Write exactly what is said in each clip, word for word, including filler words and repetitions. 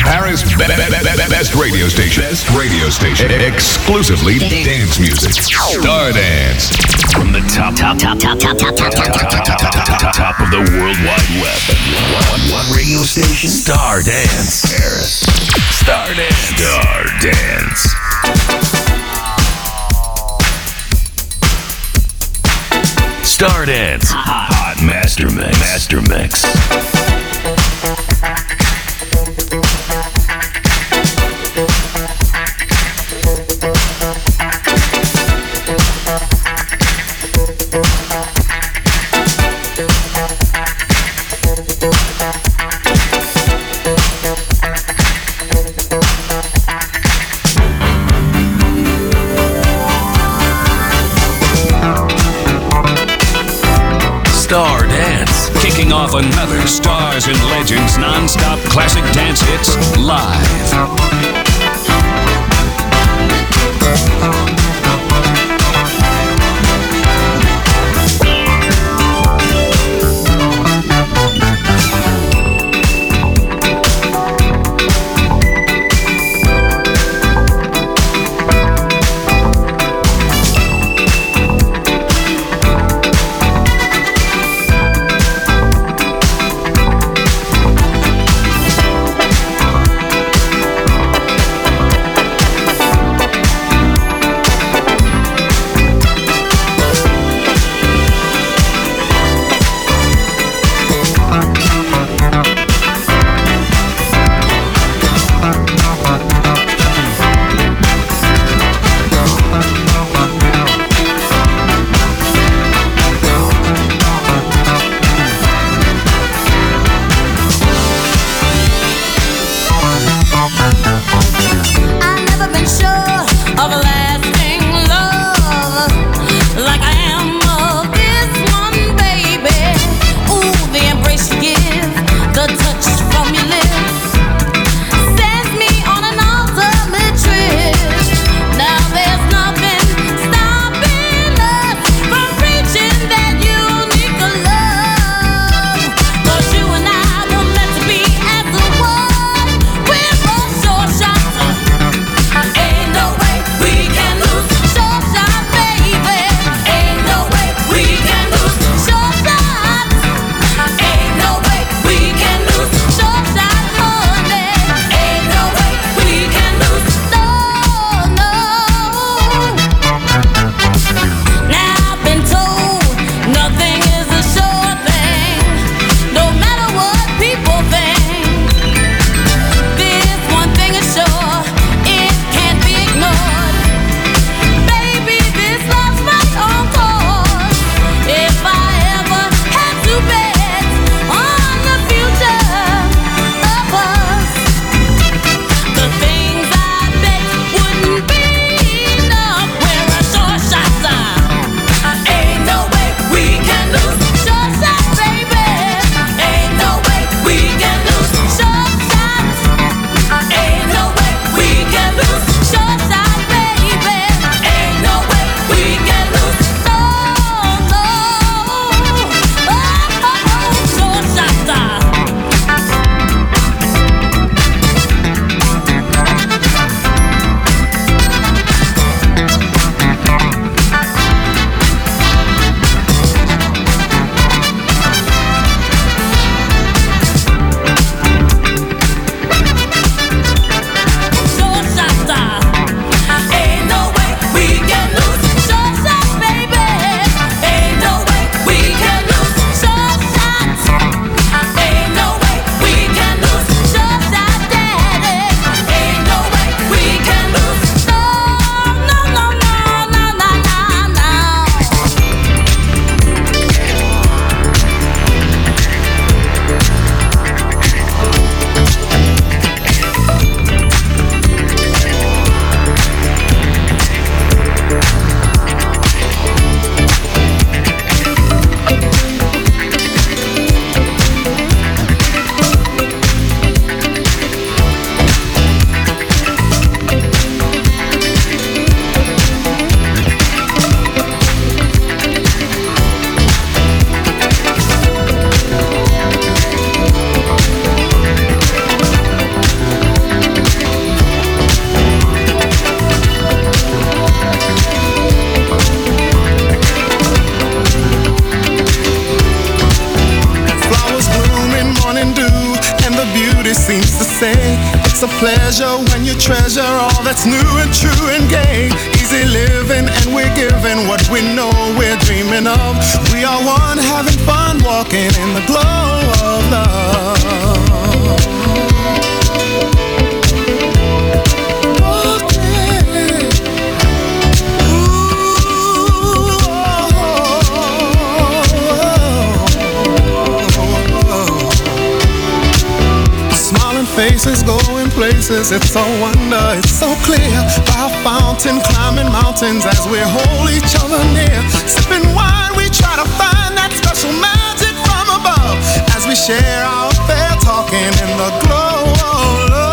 Paris' be- be- be- be- best radio station. Best radio station. Exclusively dance music. Star Dance. From the top, top, top, top, top, top, top, top, top, top, top, top, top of the World Wide Web. One, one radio station. Star Dance. Paris. Star Dance. Star Dance. Star Dance. Hot Master Mix. Master Mix. Star Dance, kicking off another Stars and Legends non-stop classic dance hits live. things to say. It's a pleasure when you treasure all that's new and true and gay. Easy living and we're giving what we know we're dreaming of. We are one having fun walking in the glow of love. Faces going places, it's a wonder, it's so clear. By a fountain, climbing mountains as we hold each other near. Sipping wine, we try to find that special magic from above. As we share our affair, talking in the glow of love.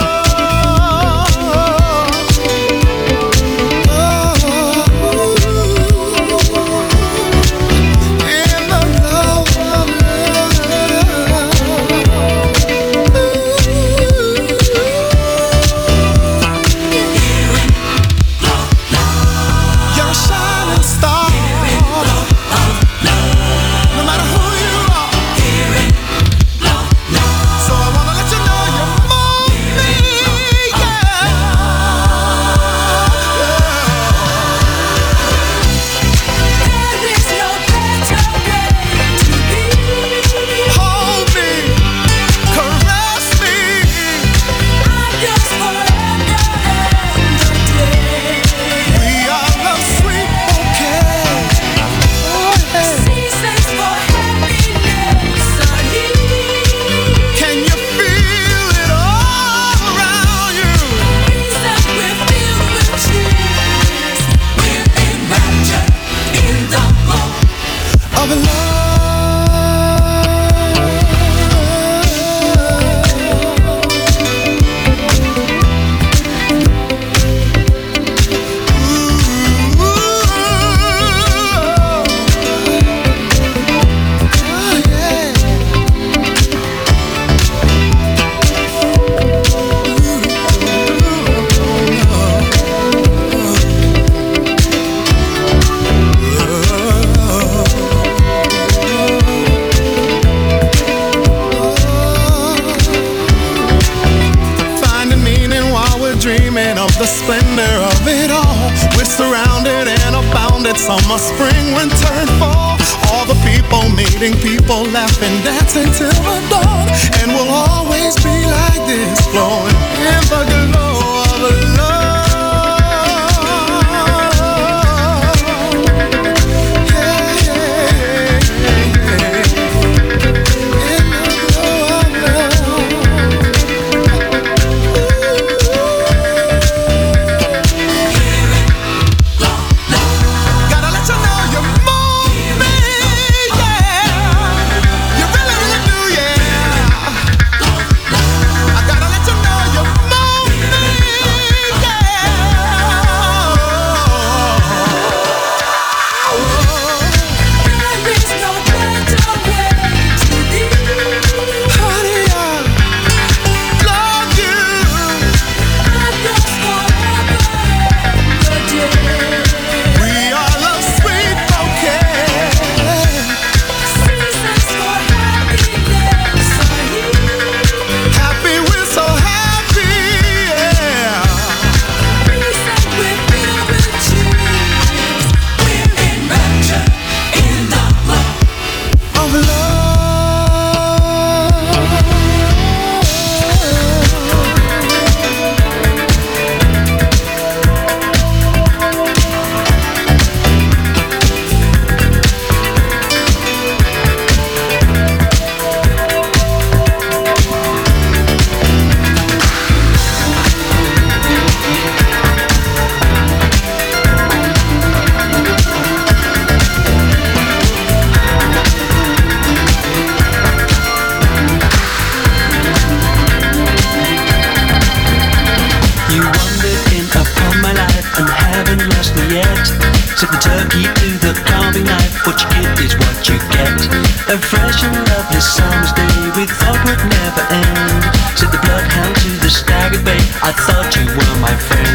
The splendor of it all. We're surrounded and abounded. Summer, spring, winter, and fall. All the people meeting people, laughing, dancing till the dawn. And we'll always be like this, flowing in the glow of love. A fresh and lovely summer's day we thought would never end. Said the bloodhound to the staggered bay, I thought you were my friend.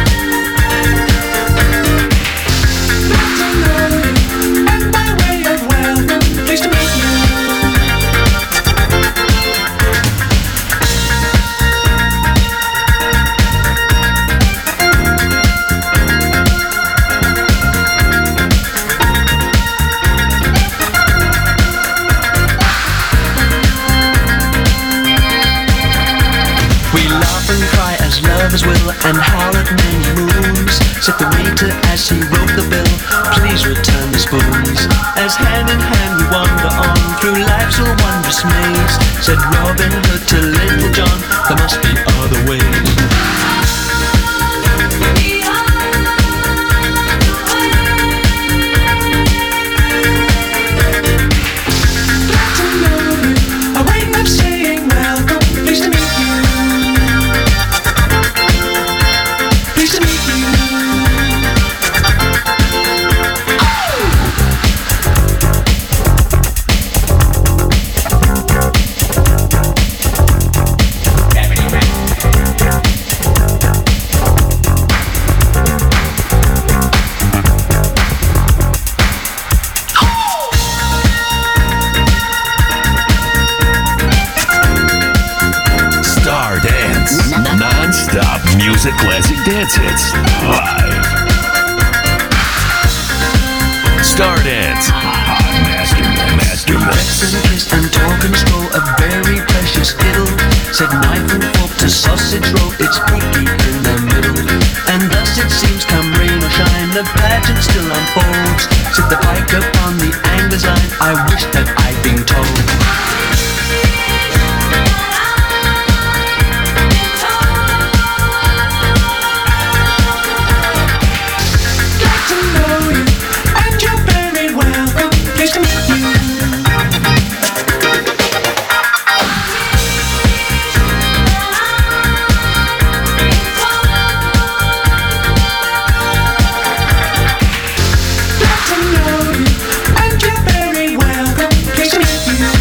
And by way of and howl at many moons. Said the waiter as he wrote the bill, please return the spoons. As hand in hand we wander on through life's a wondrous maze. Said Robin Hood to Little John, there must be other ways. Music classic dance hits live. Star Dance. Master, master mix. And kiss and talk and stroll, a very precious diddle. Said knife and fork to sausage roll, it's freaky in the middle. And thus it seems, come rain or shine, the pageant still unfolds. Said the pike upon the angler's line, I wish that I'd been told. Pleased to meet you.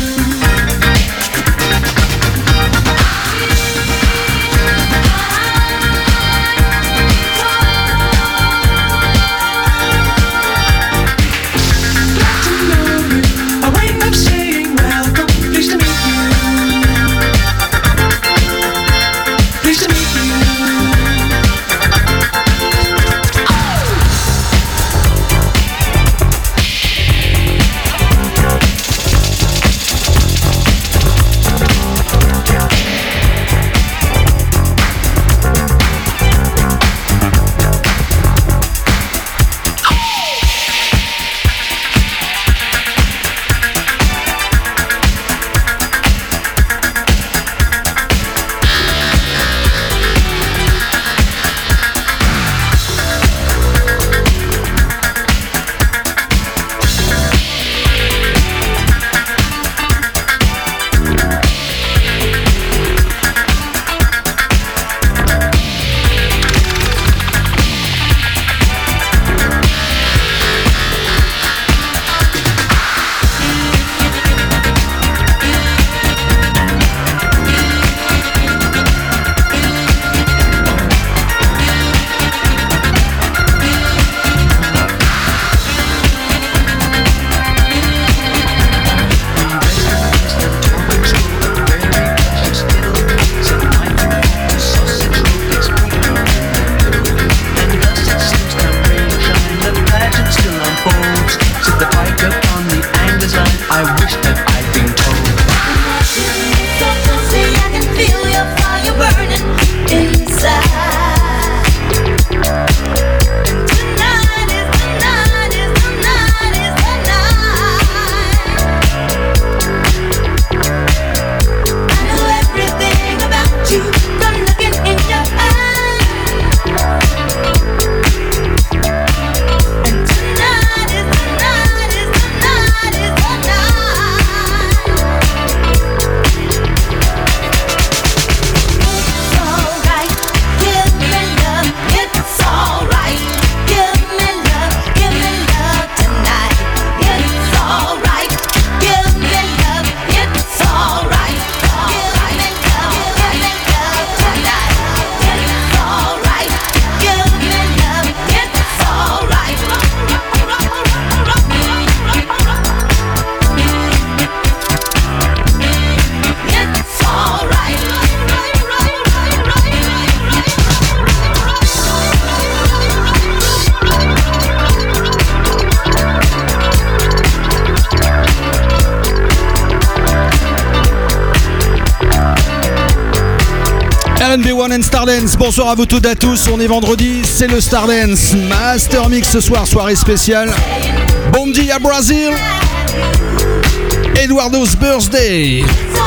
N B one and Stardance. Bonsoir à vous toutes et à tous, on est vendredi, c'est le Stardance Master Mix ce soir, soirée spéciale. Bom dia Brazil, Eduardo's birthday.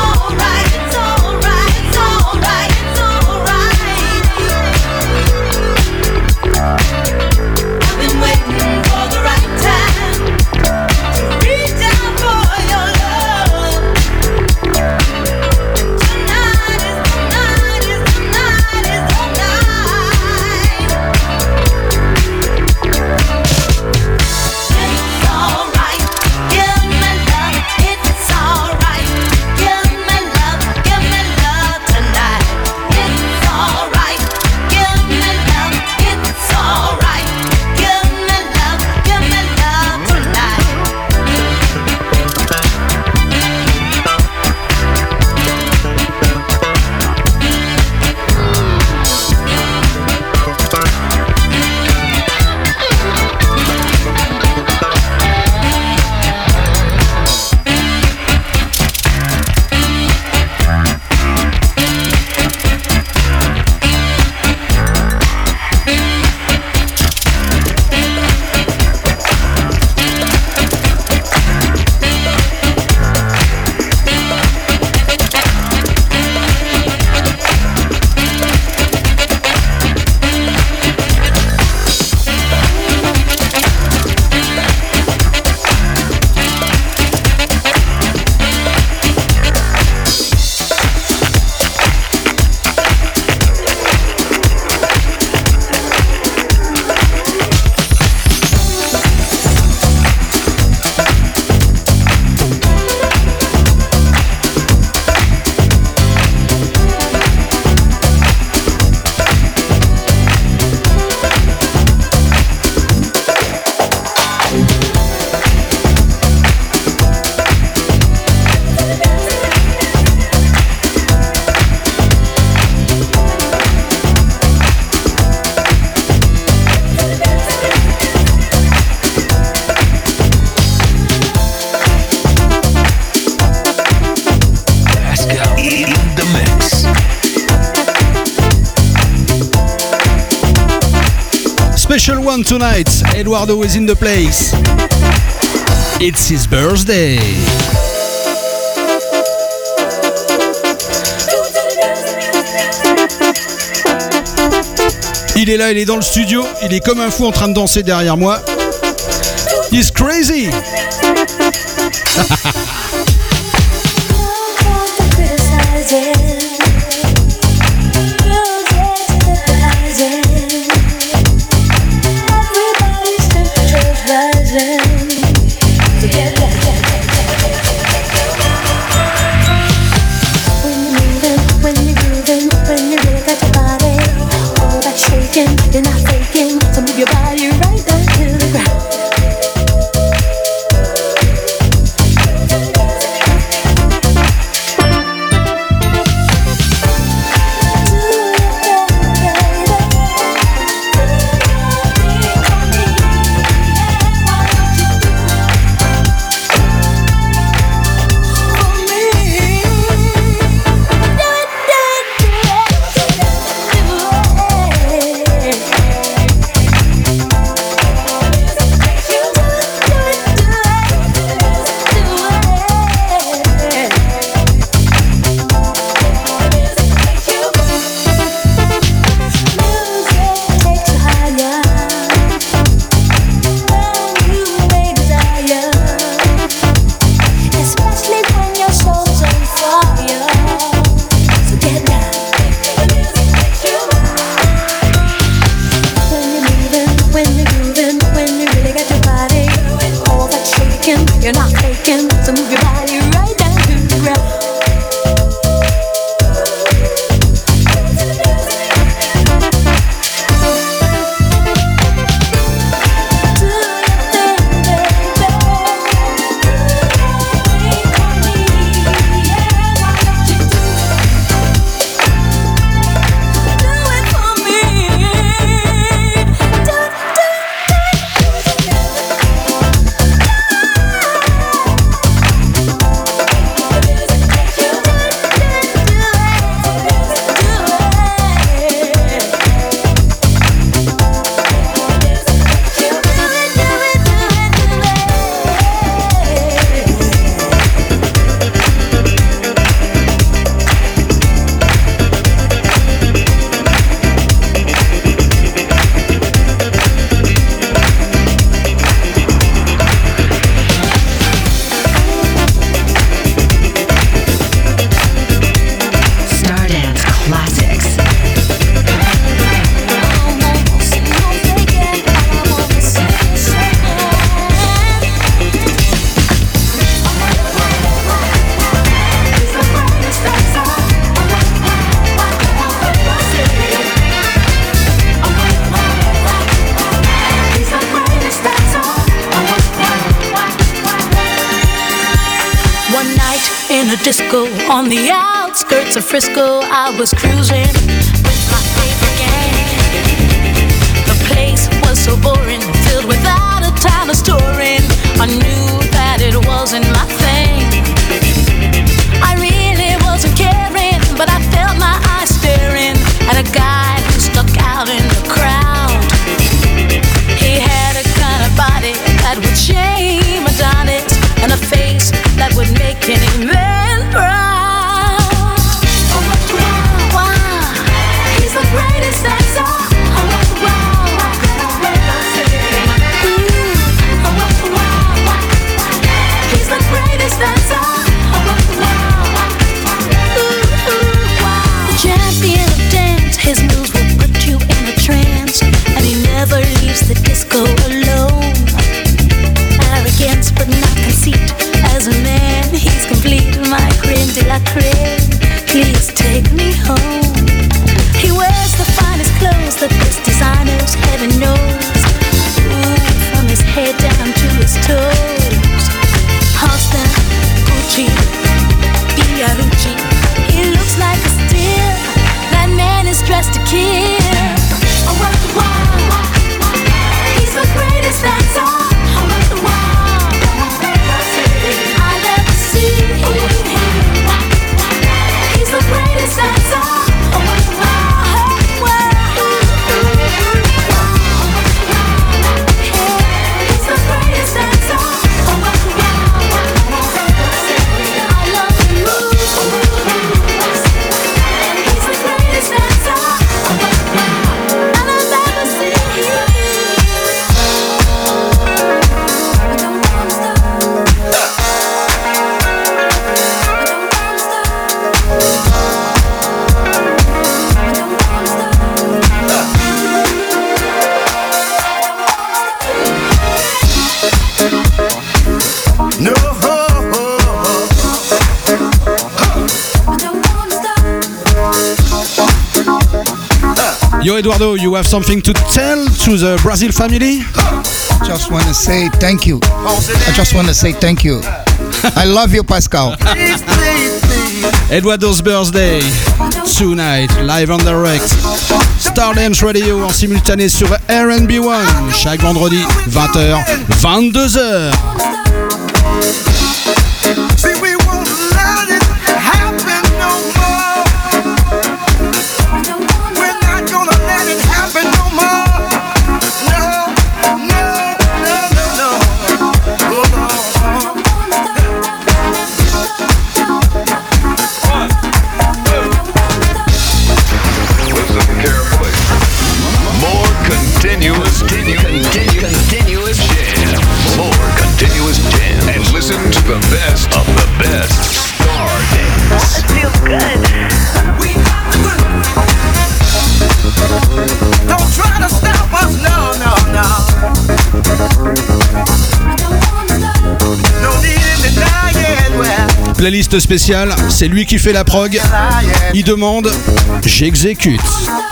Special one tonight. Eduardo is in the place. It's his birthday. Il est là, il est dans le studio. Il est comme un fou en train de danser derrière moi. He's crazy. You're not faking, so move your body right down to the ground. in a disco on the outskirts of Frisco. I was cruising with my favorite gang. The place was so boring, filled without a time of storing. I knew that it wasn't my thing. I really wasn't caring, but I felt my eyes staring at a guy who stuck out in the crowd. He had a kind of body that would shame Adonis, and a face that would make any man proud. Oh, wow, wow, he's the greatest dancer. Oh, wow, wow, ooh, oh, wow, wow, he's the greatest dancer. Oh, wow, ooh, ooh, wow. The champion of dance, his moves will put you in a trance, and he never leaves the disco alone. Arrogance but not conceit. As a man, he's complete. My creme de la creme. Please take me home. He wears the finest clothes, the best designers, heaven knows. Ooh, from his head down to his toes. Halston, Gucci, Fiorucci. He looks like a steal. That man is dressed to kill. Oh, what the wow. He's the greatest dancer. Yo Eduardo, you have something to tell to the Brazil family? Just want to say thank you. I just want to say thank you. I love you, Pascal. Eduardo's birthday tonight, live on direct. Stardance Radio en simultané sur R and B One chaque vendredi vingt heures, vingt-deux heures. Continuous, continue, continuous jam. More continuous jam. And listen to the best of the best. Stardance. It feels good. We got the good. Don't try to stop us, no, no, no. No need in denying where. Playlist spéciale, c'est lui qui fait la prog. Il demande, j'exécute.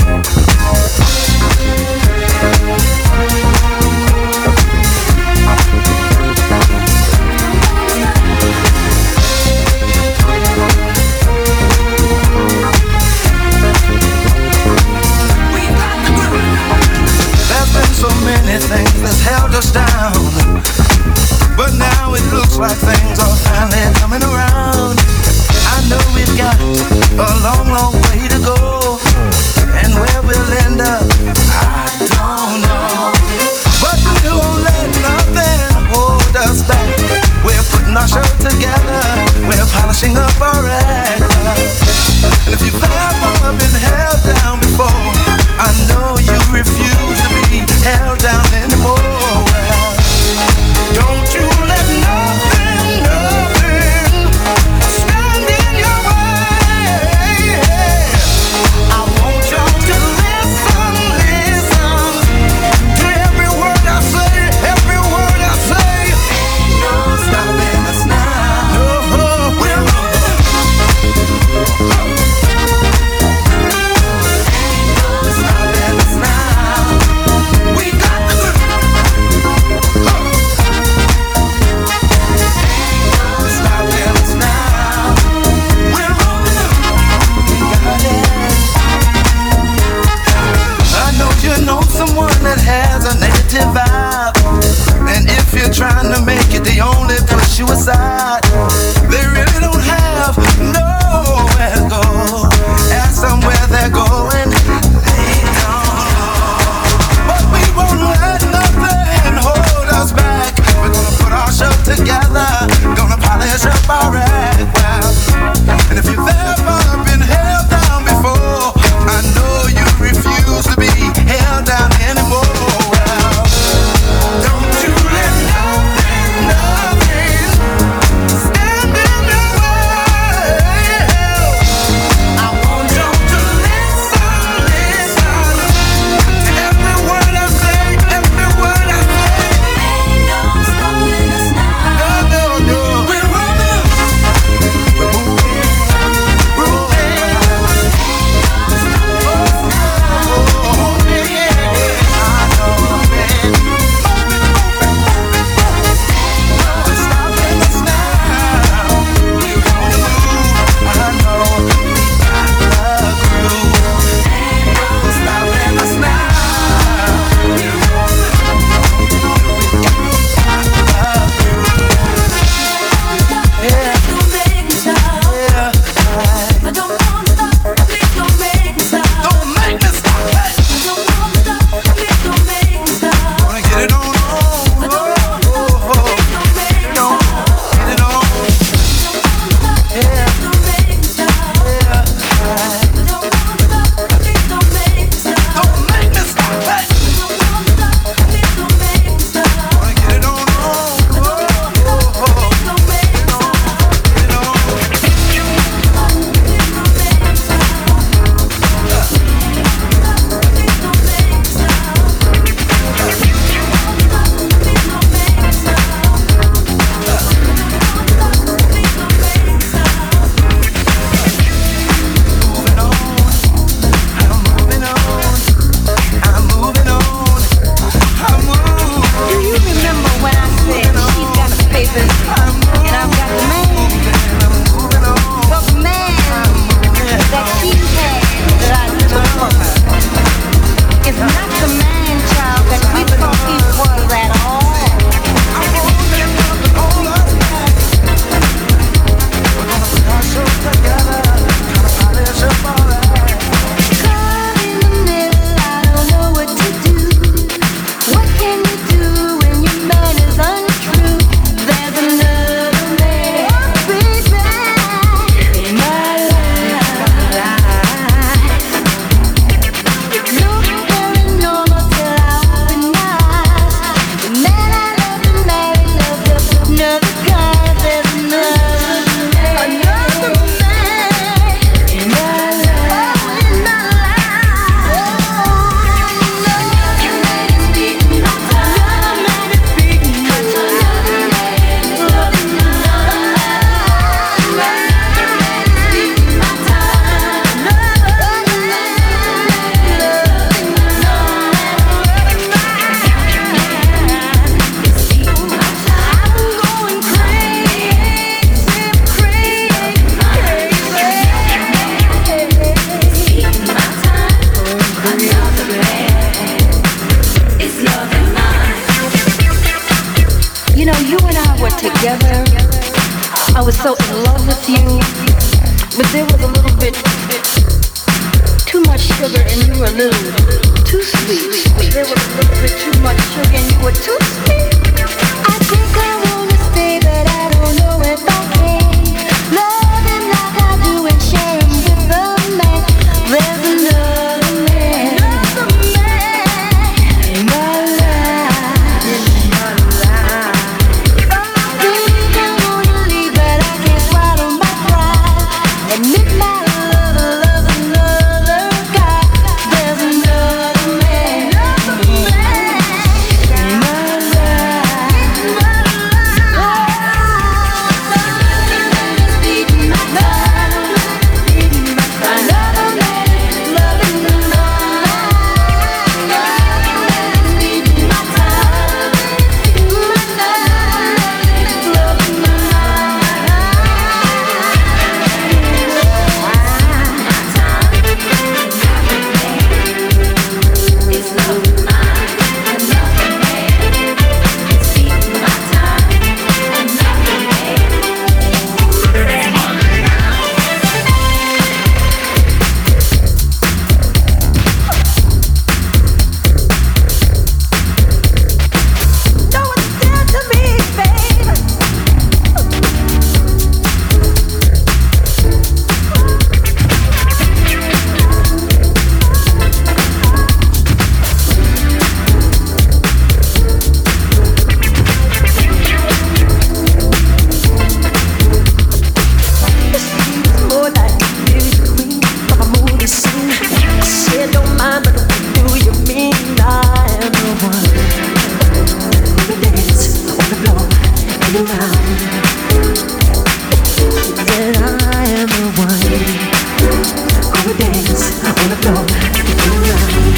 So many things that's held us down, but now it looks like things are finally coming around. I know we've got a long, long way to go, and where was so in love with you, but there was a little bit too much sugar and you were a little too sweet. There was a little bit too much sugar and you were too sweet. I think I wanna stay, but I don't know if I can. Loving like I do and sharing with a man. There's another man, another man in my life. In my life. I think I wanna leave, but I can't swallow my pride. And if my lover loves another guy, there's another man, another man in my life. In my life. Oh, loving is beating my time, beating my time. Another man loving another. Loving is beating my time, beating my time. Loving my It's loving mine, another man. It's beating my time, another man. Know what you did to me, babe. More like beauty queen of a movie scene. I said don't mind, but what do you mean? I am the one who dance on the floor and around. She said I am the one who dance on the floor and around.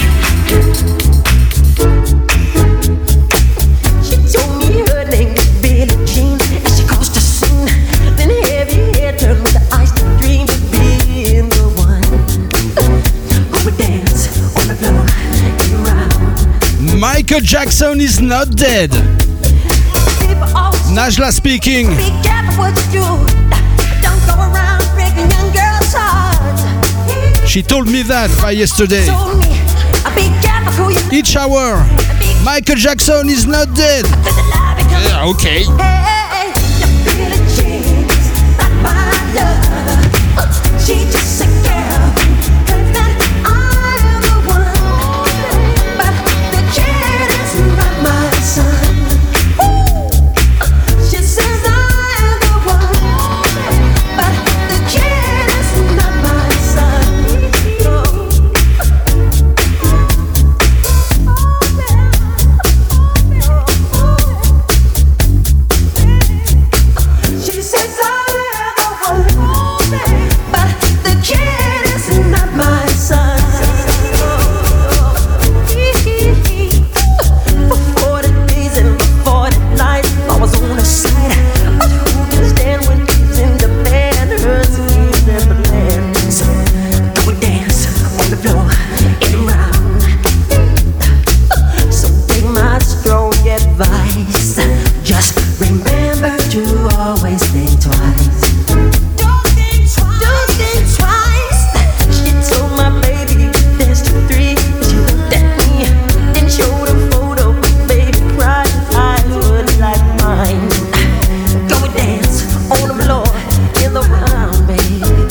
She told me her name was Billie Jean, and she caused a scene. Then heavy hair turned with the ice to dream of being the one who would dance on the floor and around. Michael Jackson is not dead. People always Najla speaking. be careful what you do. Don't go around breaking young girls' hearts. She told me that by yesterday. Told me, be careful who you Each hour. Michael Jackson is not dead. Cause the lie becomes Yeah, okay. Hey, you feel it, she's not my love. She just a girl. Claims that I'm the one, but the kid is not my son. She says I'm the one, but the kid is not my son. She says I'm the one, but the kid is not my son. For forty days and forty nights, I was on her side. But who can stand when she's in the band? Her schemes and plans. Go and dance on the floor and around. So take my strong advice. Just remember to always think twice. Don't think twice. Don't think twice. She told my baby dance to three. She looked at me, then showed a photo. Baby cried, his eyes were like mine. Go and dance on the floor in the round, babe.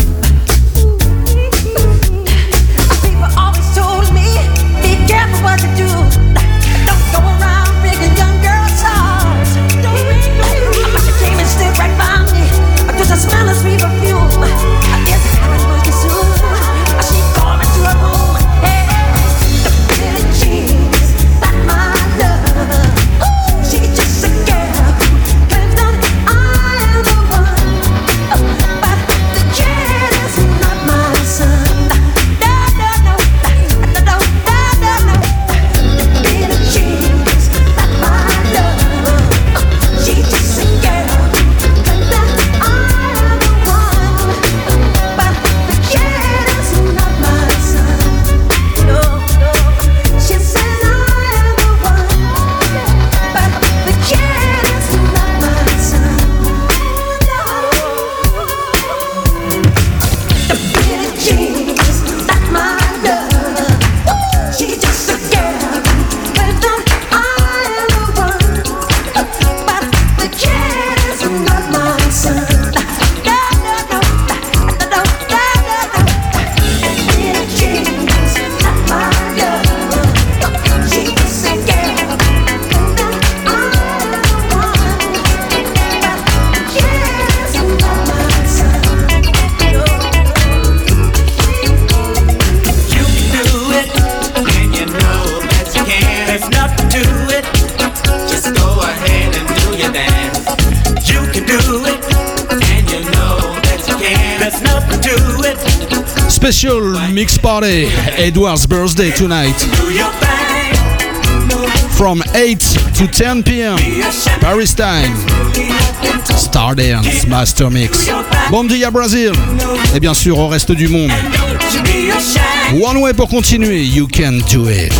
People always told me, be careful what you do. Don't go around breaking young girls' hearts. But she came and stood right by me. Just a smell of sweet perfume. I guess I was working soon. She called me to her room. Hey, the Billie Jean's not my love. She just a girl who claims that I am the one, but the kid is not my son. No, no, no, no, no, no, no, no. The Billie Jean's not my love. She just a girl who claims that I am the one. there's nothing to it. Special mix party, Edward's birthday tonight. Do your thing. From eight to ten p.m. Paris time. Stardance Master Mix. Bom dia Brazil. Et bien sûr au reste du monde. One way pour continuer. You can do it.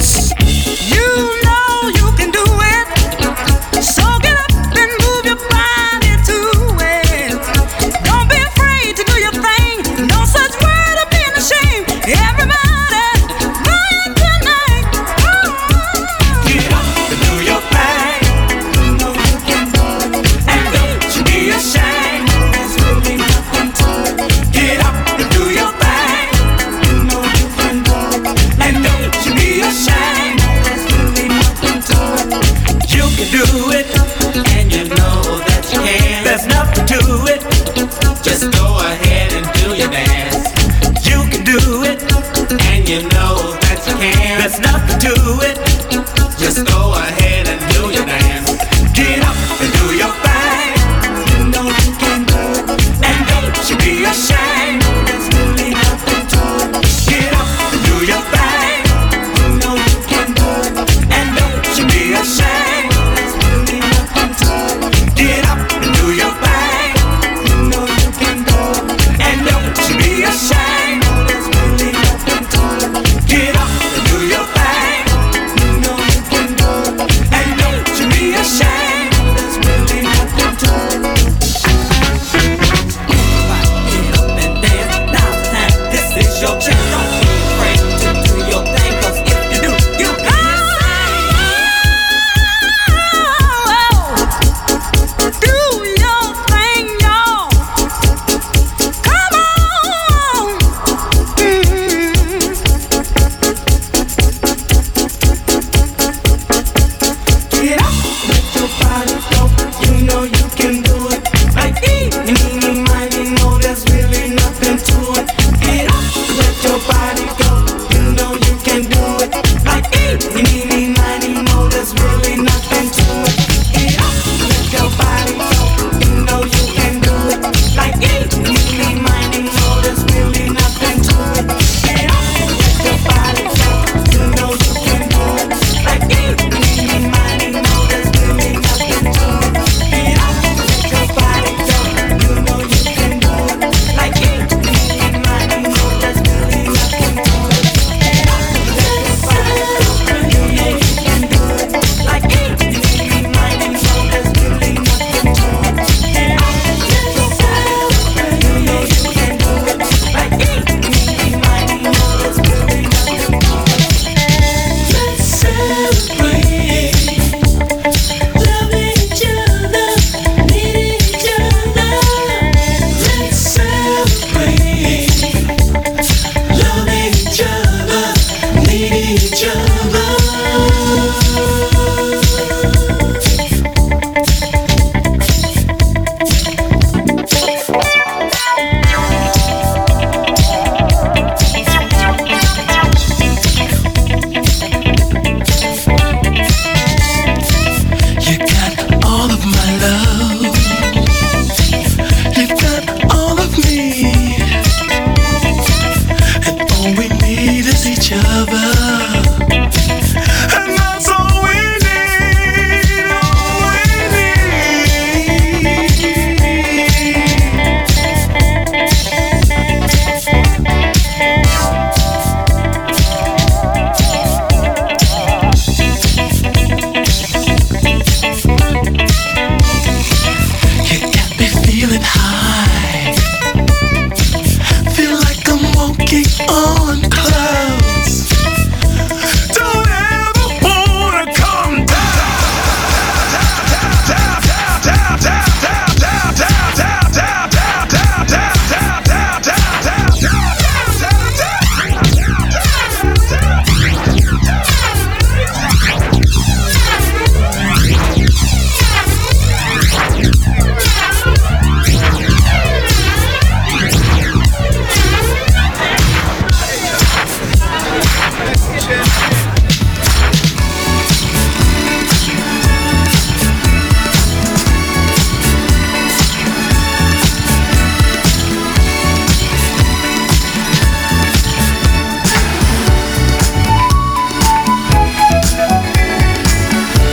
Shine.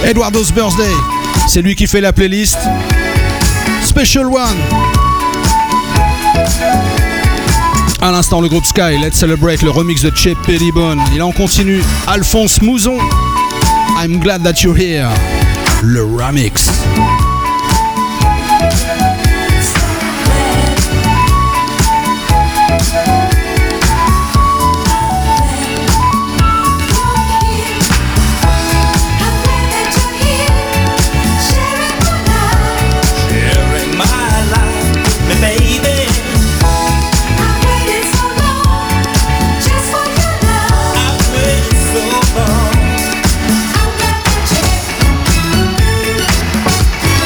Eduardo's Birthday, c'est lui qui fait la playlist. Special One. À l'instant, le groupe Sky, Let's Celebrate, le remix de Chip Pettibone. Il en continue, Alphonse Mouzon, I'm Glad That You're Here, le remix. So long.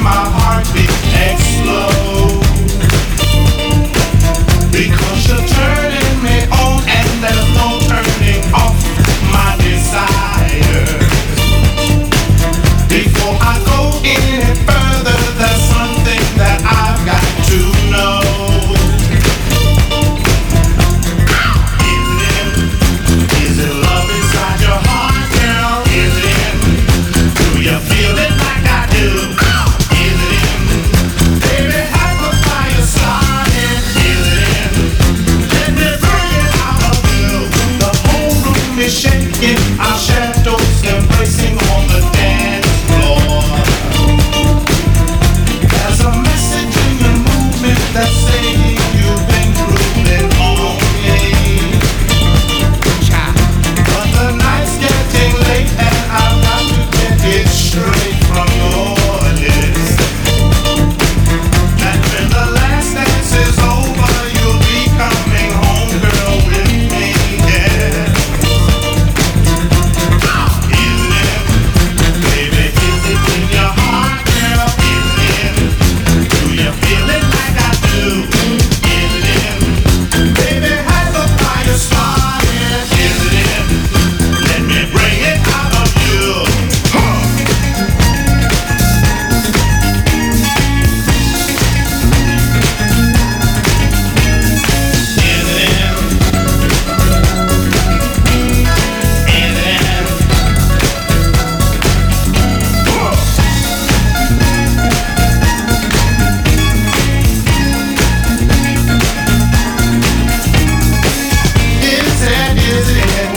my heartbeat explode. Because you're turning me on and there's no turning off my desire. Before I go any further, there's something that I've got to know. Is it, is it love inside your heart, girl? Is it, do you feel it like I do? Is it, baby, have a fire started? Is it, let me bring it out of you. The whole room is shaking, our shadows embracing on the dance floor. There's a message in your movement that's saying you've been cruising on me. But the night's getting late and I've got to get it straight from your lips. That when the last dance is over, you'll be coming home, girl, with me, yeah. Is it, baby, is it in your heart, girl? Is it, do you feel it like I do? Is it, baby, has the fire started? Is it, let me bring it out of you. Huh. Is it, is it, Whoa. Is it, is it?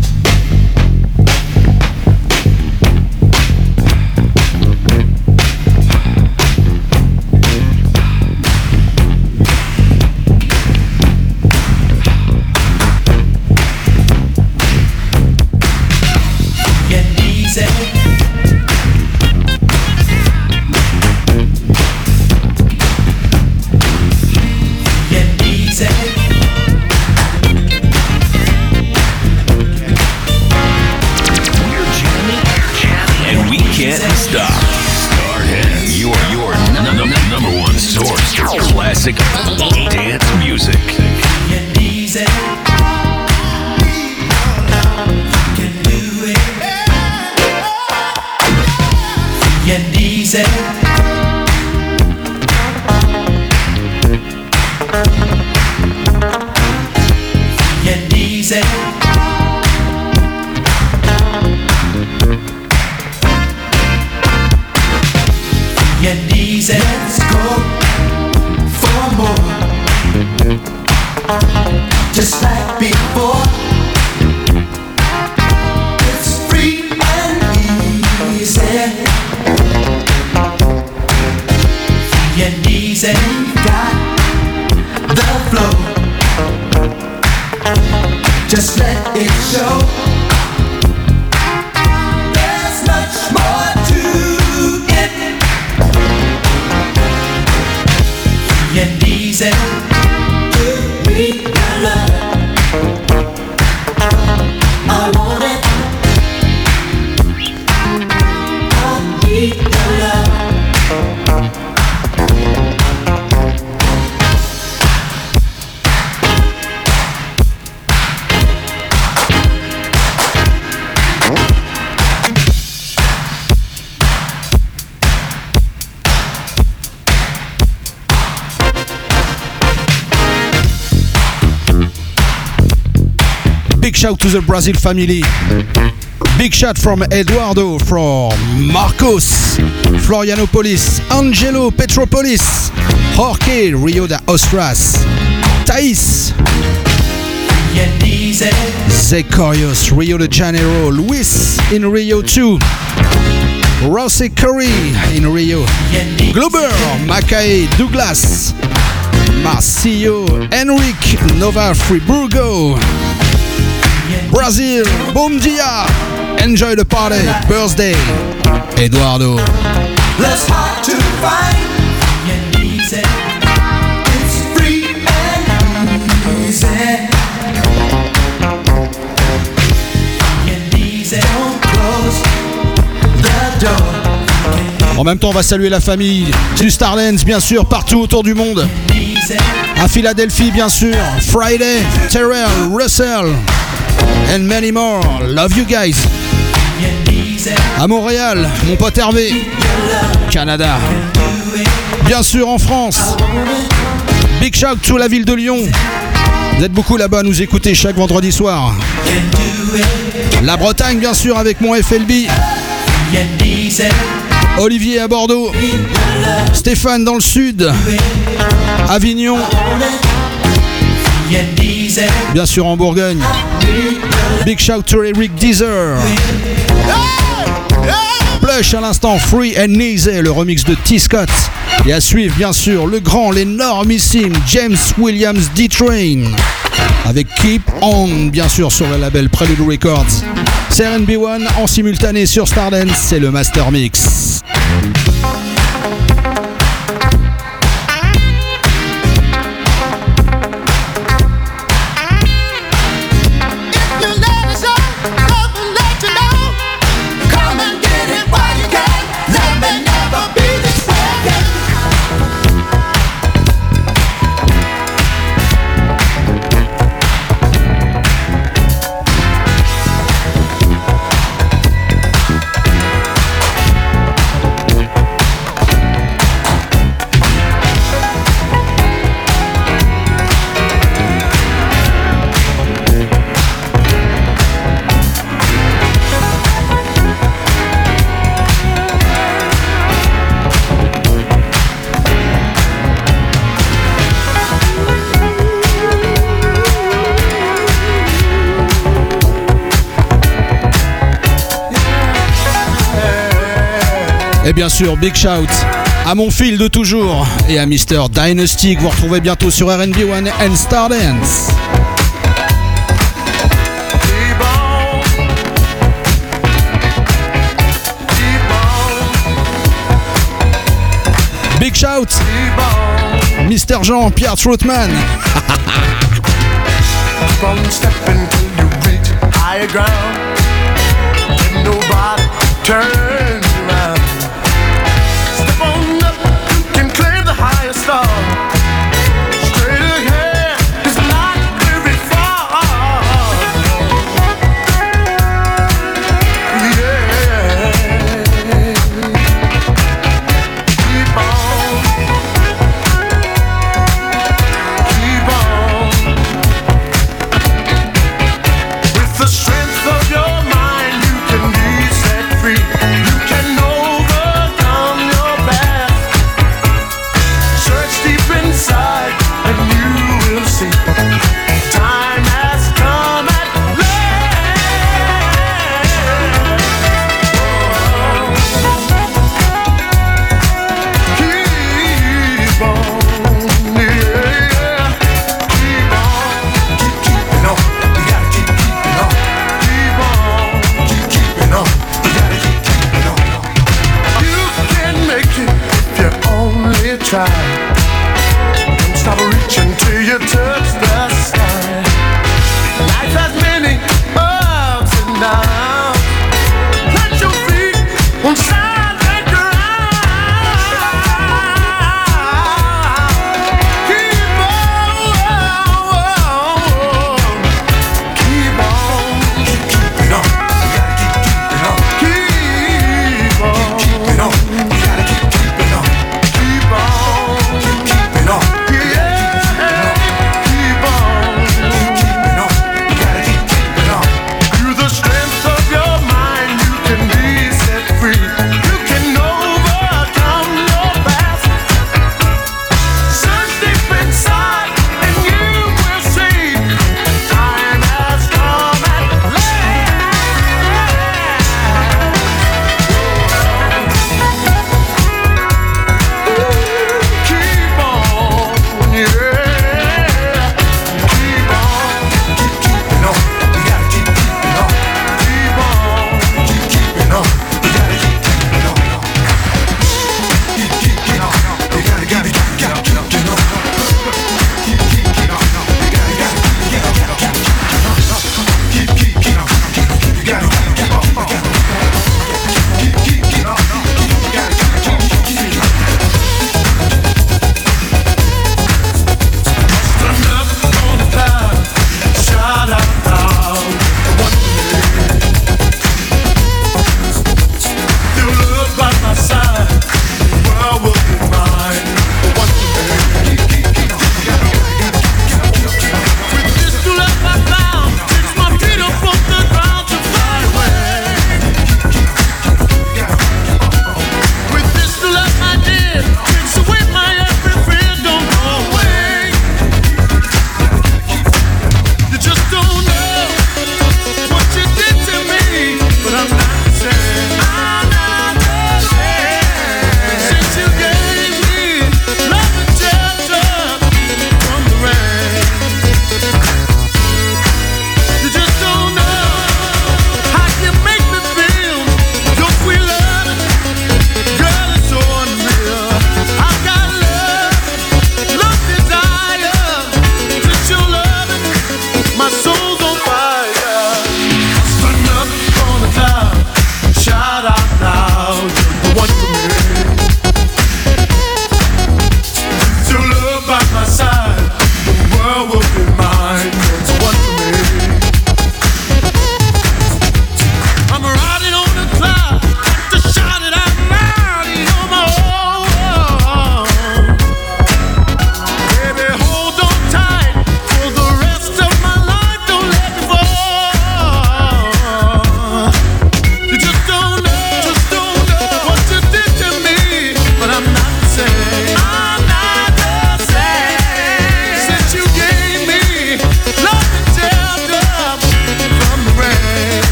Get easy. Get easy. And we can't stop. Stardance, your your num- num- number one source for classic dance music. Get easy. Can do it. Get easy. Get easy. Get easy. Let's go for more. Just like before. It's free and easy. Get easy. Got the flow. Just let it show. There's much more to it. Get easy. Give me your love. I want it. I need your love. Big shout to the Brazil family. Big shout from Eduardo, from Marcos, Florianopolis, Angelo, Petropolis, Jorge, Rio de Ostras, Thais, Zecharius, Rio de Janeiro, Luis in Rio two, Rossi Curry in Rio, Glober, Mackay, Douglas, Marcio, Henrique, Nova Friburgo, Brazil, bom dia, enjoy the party, birthday, Eduardo. Less hard to find. Get easy. It's free and easy. Get easy. Don't close the door. Get En même temps, on va saluer la famille du Stardance, bien sûr, partout autour du monde. À Philadelphie, bien sûr, Friday, Terrell, Russell, and many more. Love you guys. À Montréal, mon pote Hervé, Canada. Bien sûr, en France. Big shout to la ville de Lyon. Vous êtes beaucoup là-bas à nous écouter chaque vendredi soir. La Bretagne, bien sûr, avec mon F L B. Olivier à Bordeaux. Stéphane dans le sud. Avignon. Bien sûr en Bourgogne. Big shout to Eric Deezer. Plush à l'instant, Free and Easy, le remix de T. Scott. Et à suivre, bien sûr, le grand, l'énormissime James Williams D-Train. Avec Keep On, bien sûr, sur le label Prelude Records. C'est R and B One en simultané sur Stardance, c'est le Master Mix. Et bien sûr, big shout à mon fil de toujours et à Mister Dynasty que vous retrouvez bientôt sur R and B One and Stardance. Big shout, Mister Jean-Pierre Troutman. From stepping till you reach higher ground, and nobody turns around. Step on up, you can claim the highest star. Straight ahead, it's not very far. Yeah. Keep on, keep on. With the strength of your mind, you can be set free. You can overcome your past. Search deep inside, and you will see. Time has come at last. Keep on, yeah. Keep on, keep keeping on. You gotta keep keeping on. Keep on, keep keeping on. You gotta keep keeping on. You can make it if you only try. Don't stop reaching till you touch the sky. Life has many ups and downs. Plant your feet on solid ground. Keep on, keep on, keep keeping on. You gotta keep keeping on. Keep on, keep keeping on. You gotta keep keeping on. Keep on.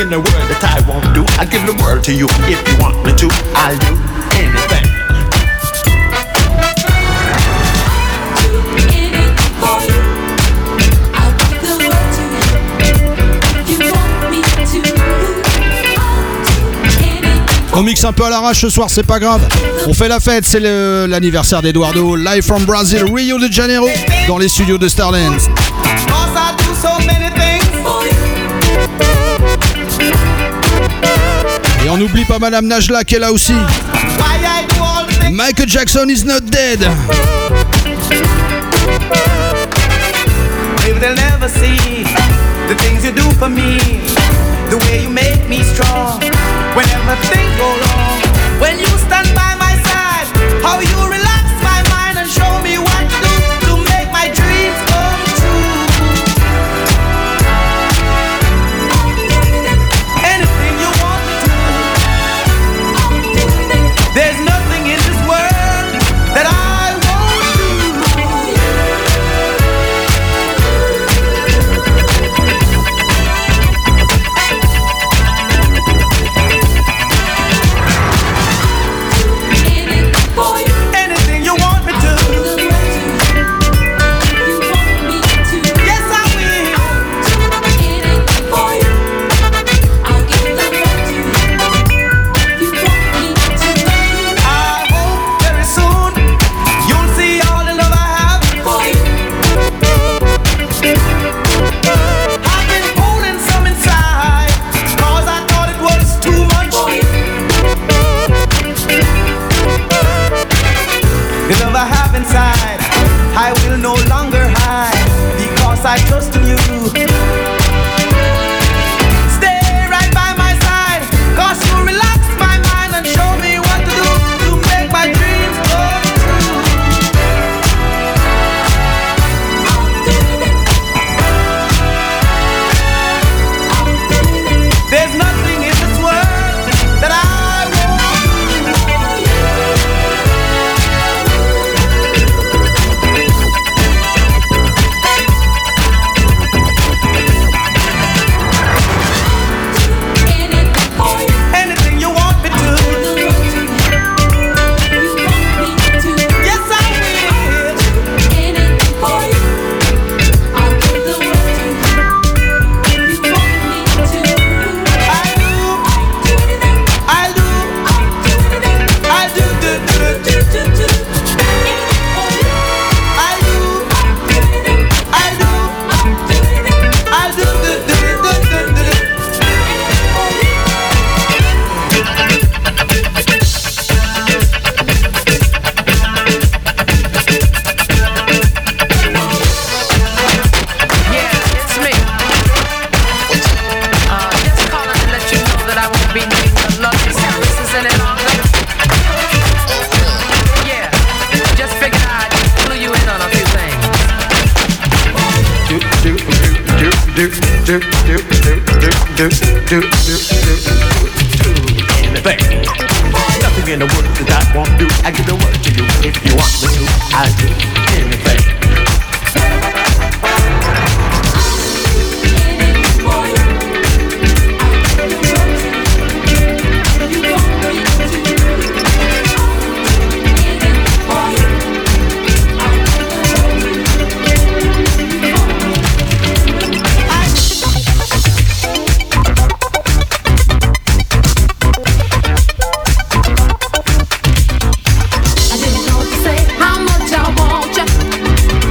in the world that I won't do. I'll give the world to you if you want me to. I'll do anything. On mixe un peu à l'arrache ce soir, c'est pas grave. On fait la fête, c'est le, l'anniversaire d'Eduardo. Live from Brazil, Rio de Janeiro, dans les studios de Starlands. Et on n'oublie pas Madame Najla qui est là aussi. Michael Jackson is not dead. Maybe they'll never see the things you do for me, the way you make me strong whenever things go wrong. When you stand by my side, how you relax my mind and show me what to do to make my dreams come true. Anything you want me to, there's nothing in this world that I won't do. Anything you want me to, yes I will. I hope very soon you'll see all the love I have for you. I've been holding some inside, cause I thought it was too much. The love I have inside, I will no longer hide, because I trust in you. Stay right by my side, cause you relax my mind and show me what to do to make my dreams come true. There's nothing in this world that I won't do. Anything you want me to, yes I will. I do, I do, I do, do, do, do, do, do. I do, I do, I do, do, do, do, do, do. Yeah, it's me. Uh, just calling to let you know that I won't be needing the luxury services any longer. Yeah, just figured I'd clue you in on a few things. Do, do, do, do, do, do, do, do, do, do, do, do, do, anything. Nothing in the world that I won't do. I give the word to you if you want me to. I'll do anything. I didn't know what to say, how much I want you.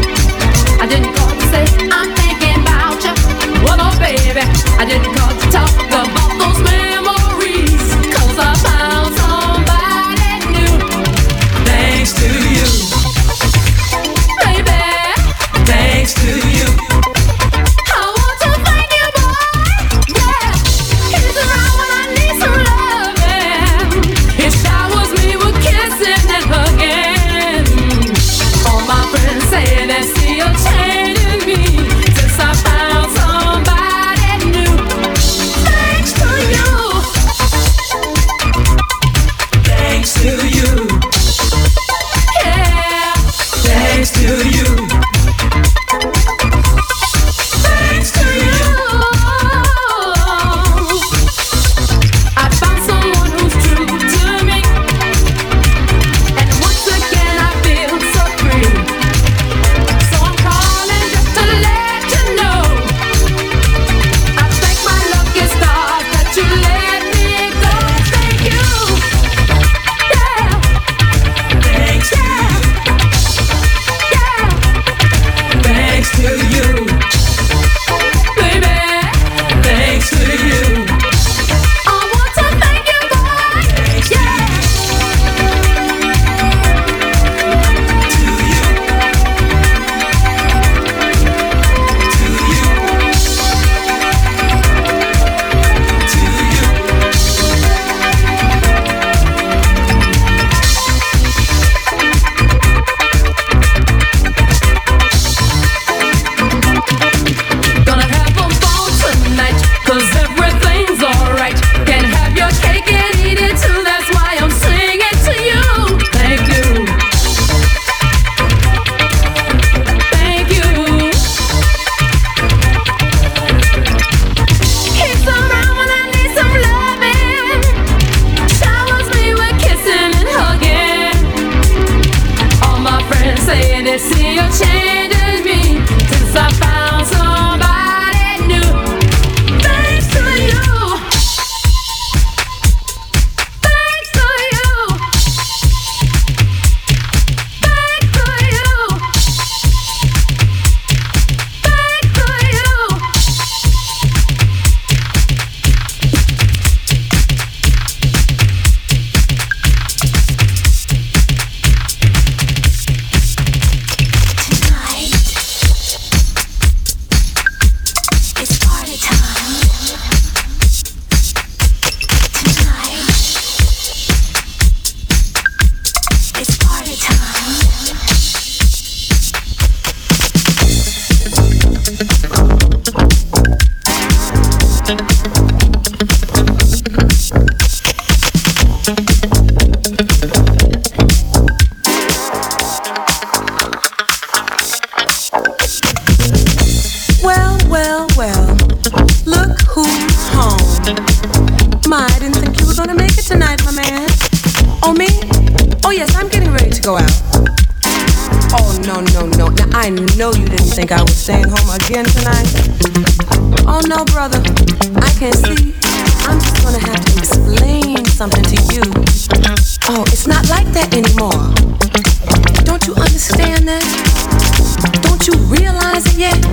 well, look who's home. My, I didn't think you were gonna make it tonight, my man. Oh, me? Oh, yes, I'm getting ready to go out. Oh, no, no, no. Now, I know you didn't think I was staying home again tonight. Oh, no, brother. I can see. I'm just gonna have to explain something to you. Oh, it's not like that anymore. Don't you understand that? Don't you realize it yet?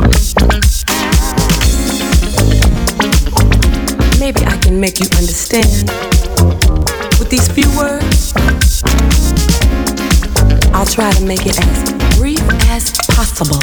Maybe I can make you understand with these few words. I'll try to make it as brief as possible.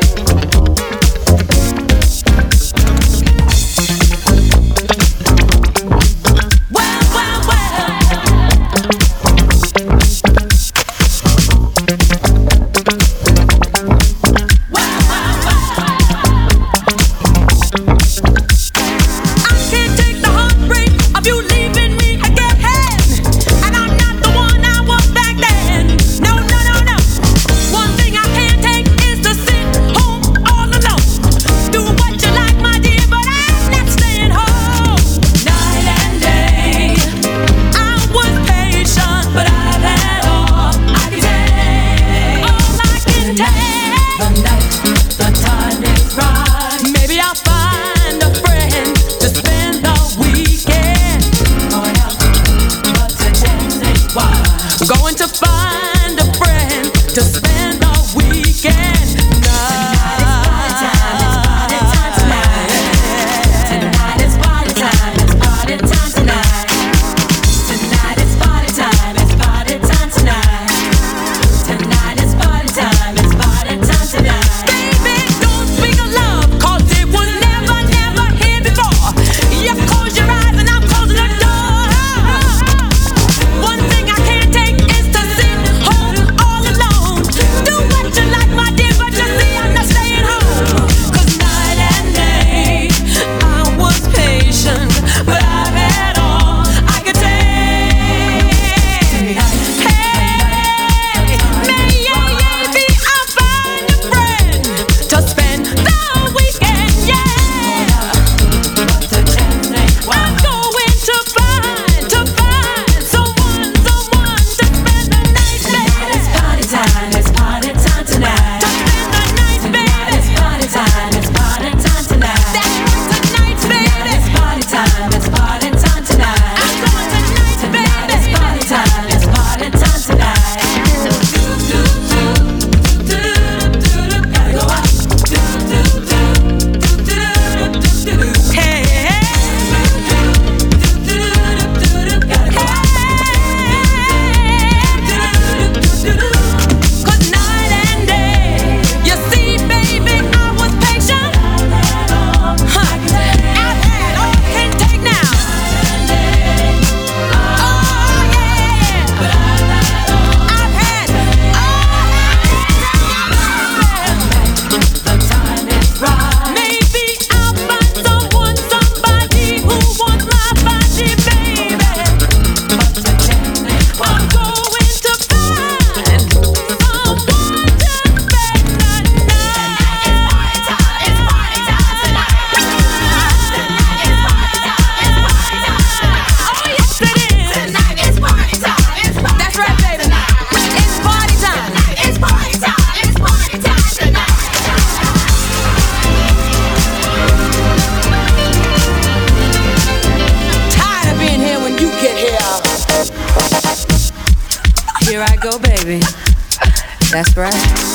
That's right.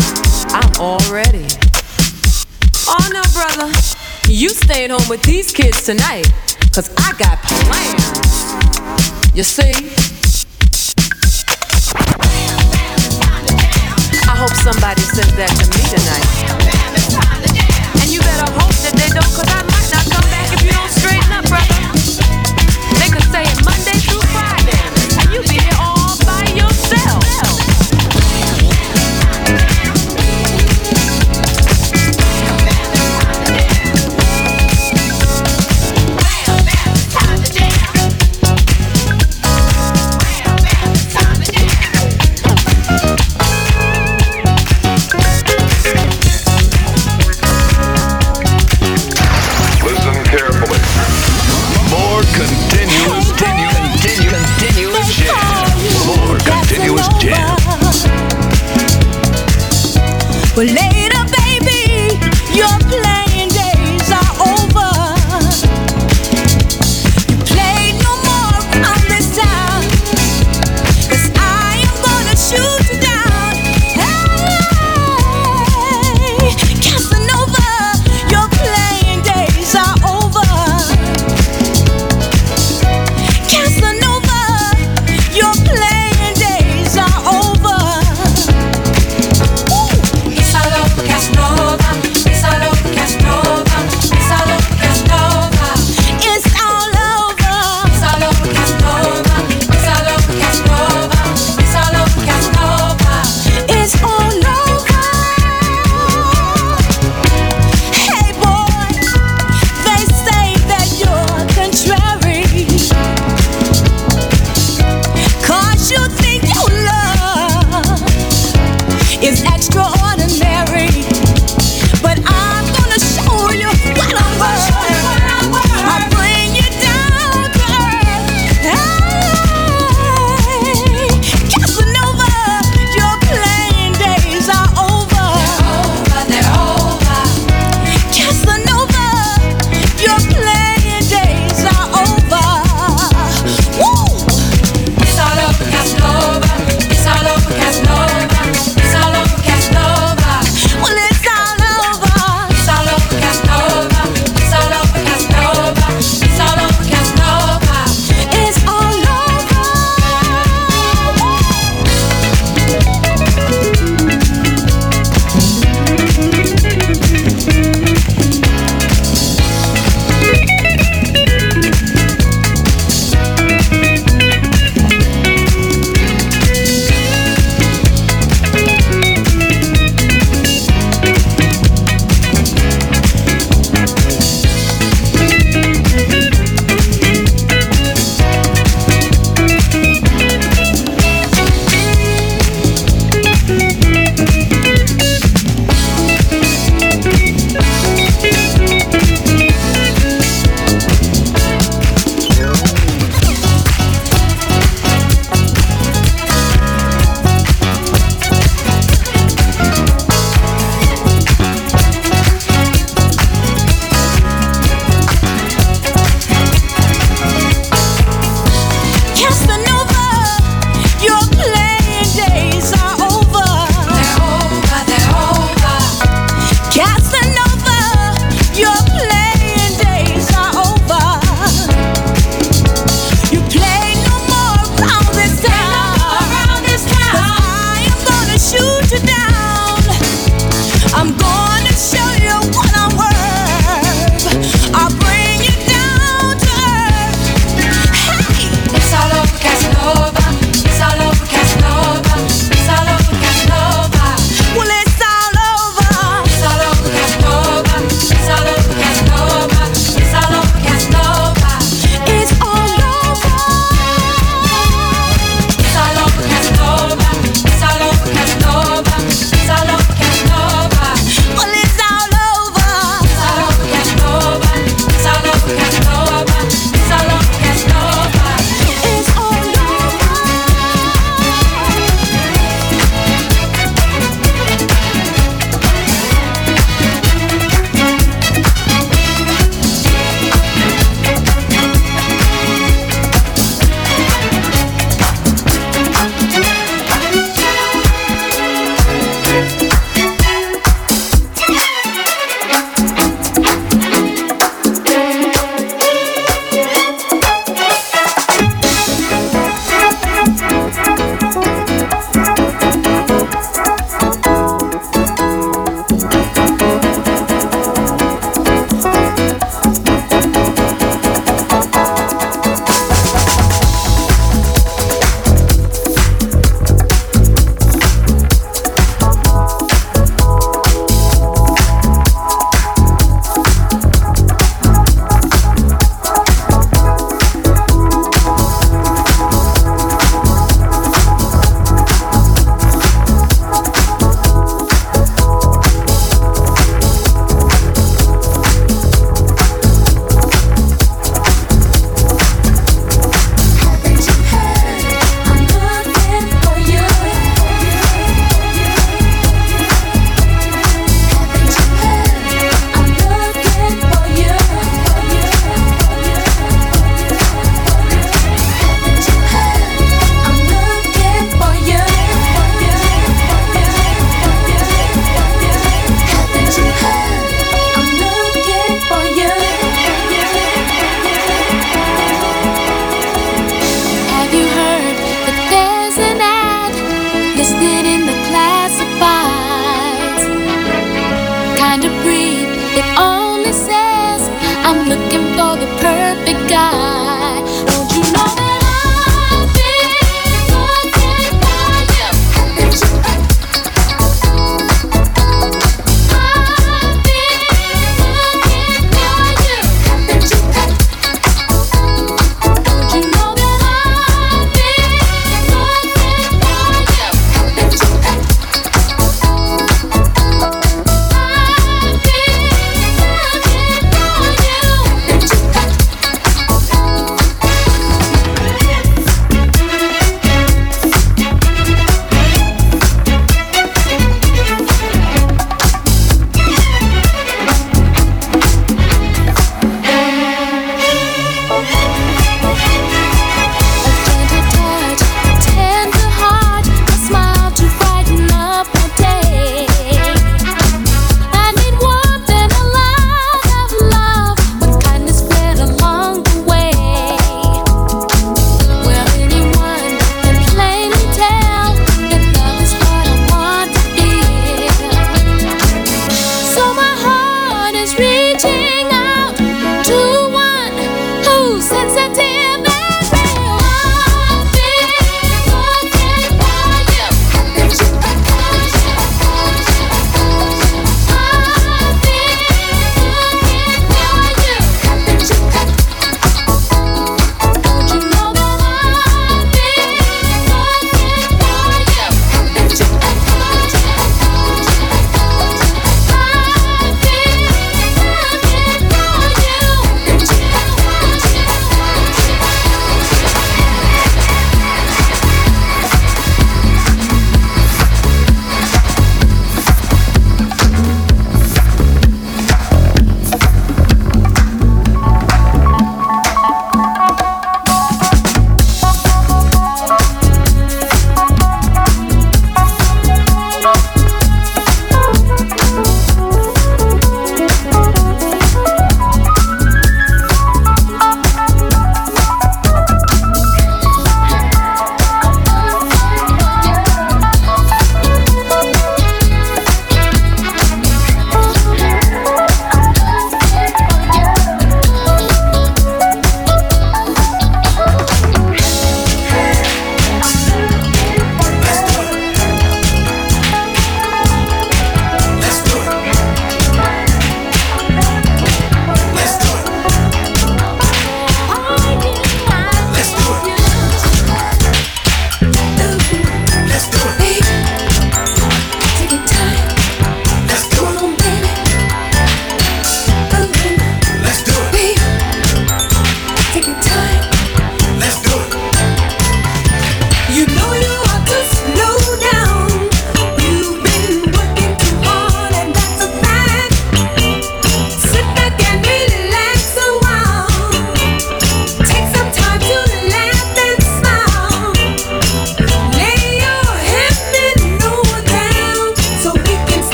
I'm all ready. Oh no, brother. You staying home with these kids tonight, cause I got plans. You see? I hope somebody says that to me tonight. And you better hope that they don't, cause I might not come back if you don't straighten up, brother. They could say it Monday through Friday, and you be here all by yourself.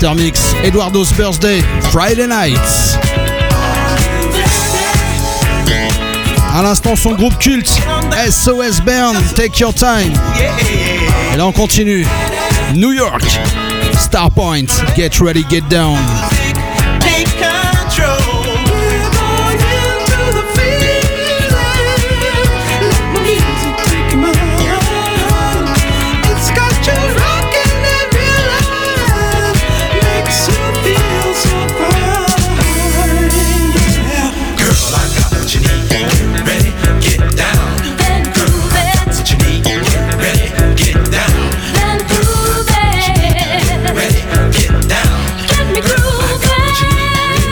Master Mix, Eduardo's Birthday, Friday Nights. À l'instant, son groupe culte, S O S Band, Take Your Time. Et là, on continue. New York, Starpoint, Get Ready, Get Down. Take control. We're going into the feeling. Let my music take my heart. It's got you rocking every line. Makes you feel so fine. Yeah. Girl, I got what you need. Get ready, get down. Then prove it. What you need. Get ready, get down. Then prove it. Ready, get down. Get me grooving.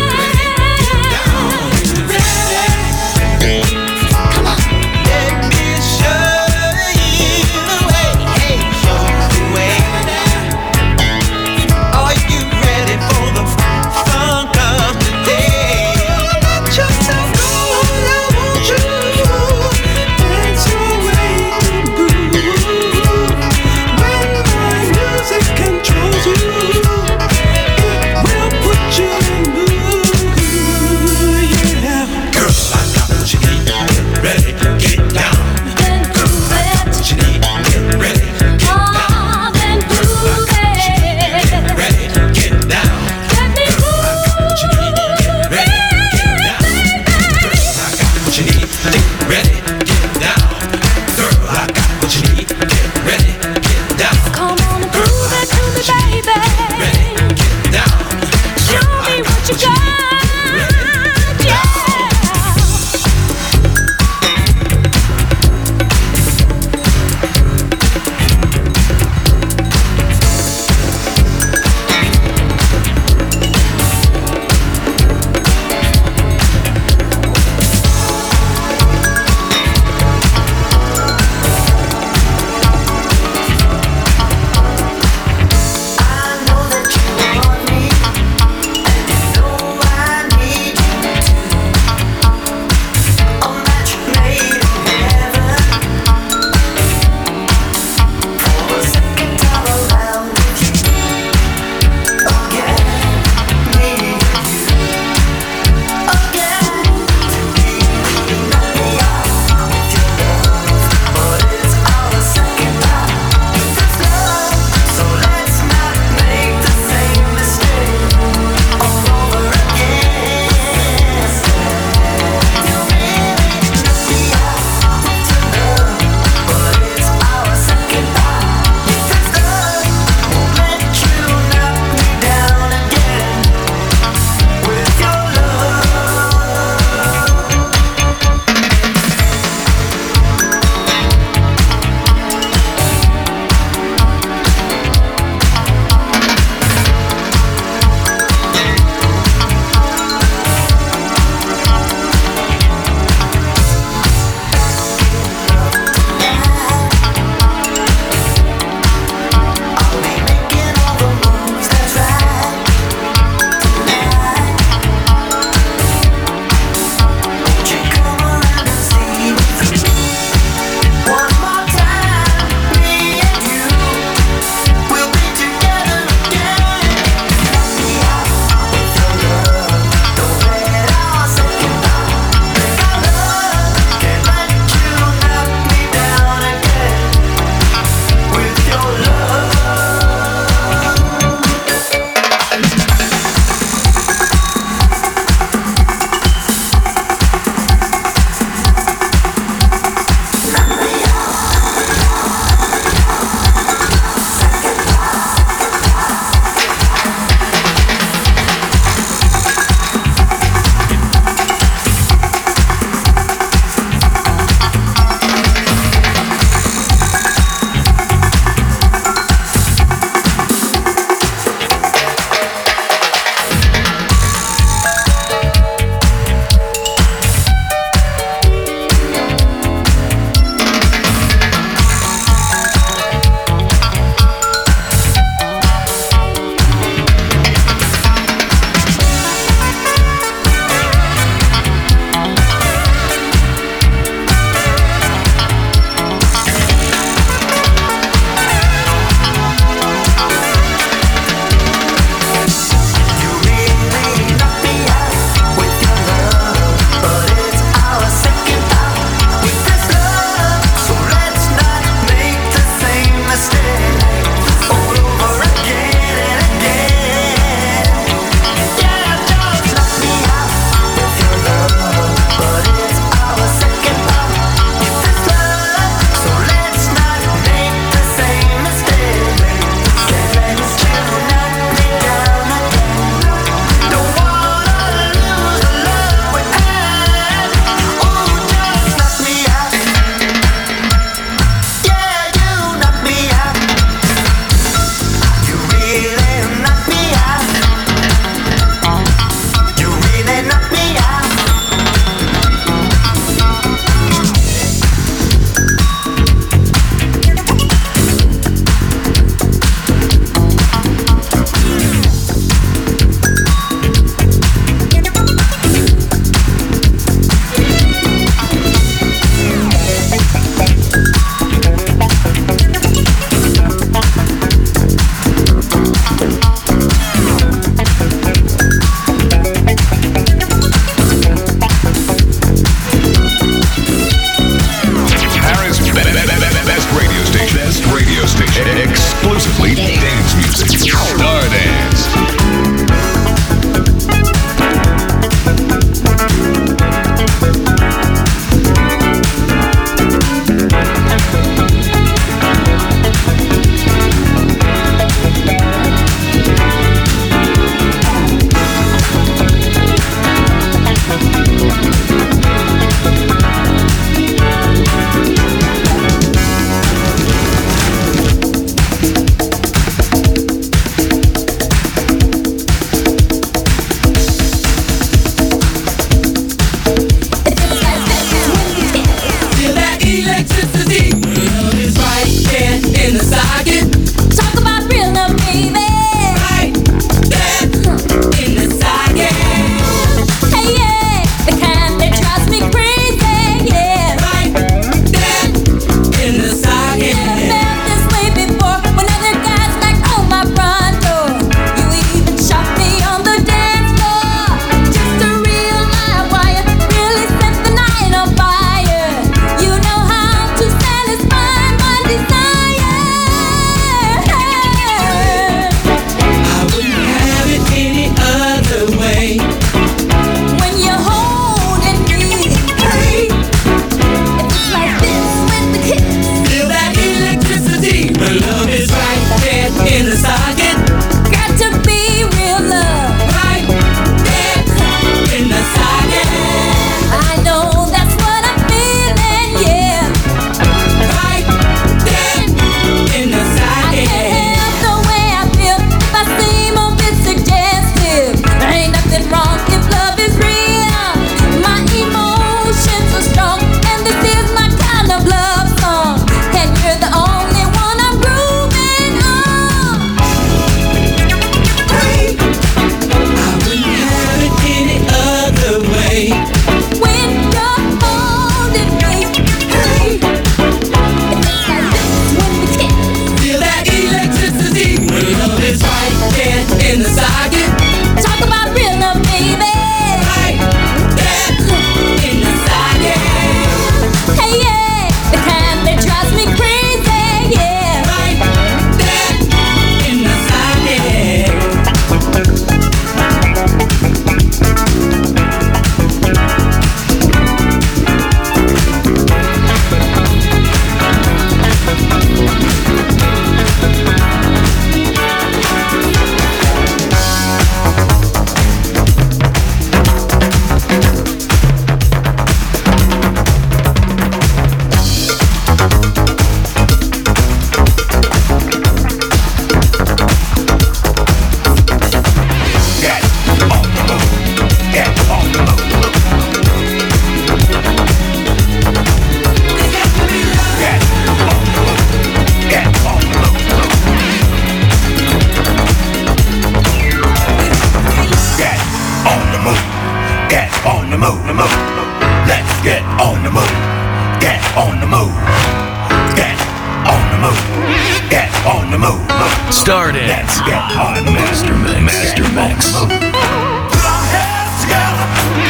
Let's get on the move. Get on the move. Get on the move. Get on the move. Start it. Let's get on the Master Mix. Master Mix. Put our heads together.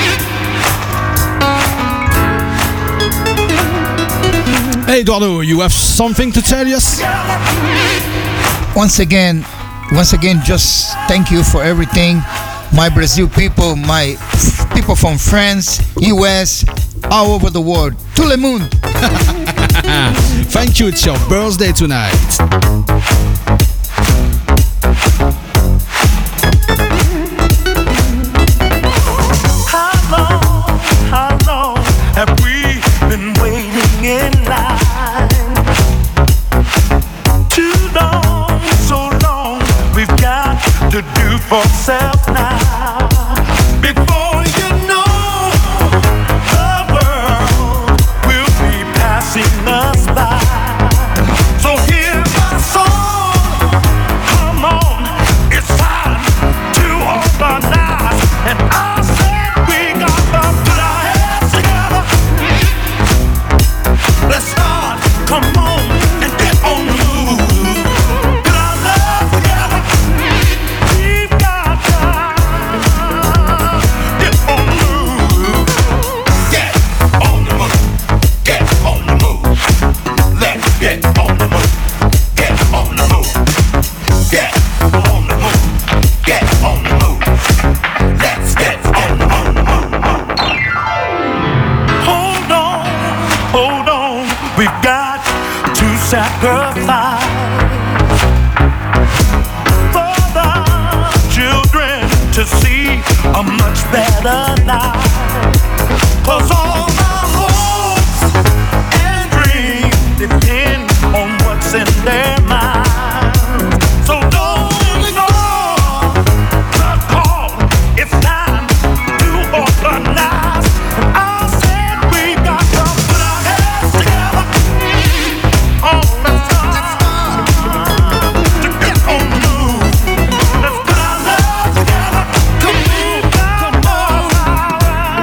Hey Eduardo, you have something to tell us? Once again, once again, just thank you for everything. My Brazil people, my people from France, U S, all over the world. Tout le monde. Thank you, it's your birthday tonight. How long, how long have we been waiting in line? Too long, so long, we've got to do for self now. Before you know, the world will be passing us by. So hear my song, come on, it's time to organize. And I said we got to put our heads together. Let's start, come on, and get on the move. Put our love together. We've got time. Get on the move. Get on the move. Get on the move. Let's get on the move. Get on the move. Get on the move. Get on the move. Let's get on the move. Hold on, hold on, we've got to sacrifice for the children to see a much better life. 'Cause all my hopes and dreams depend on what's in their mind. So don't ignore the call, it's time to organize. And I said we got to put our heads together. Oh, let's start to get on the move. Let's put our love together. Come on, come on.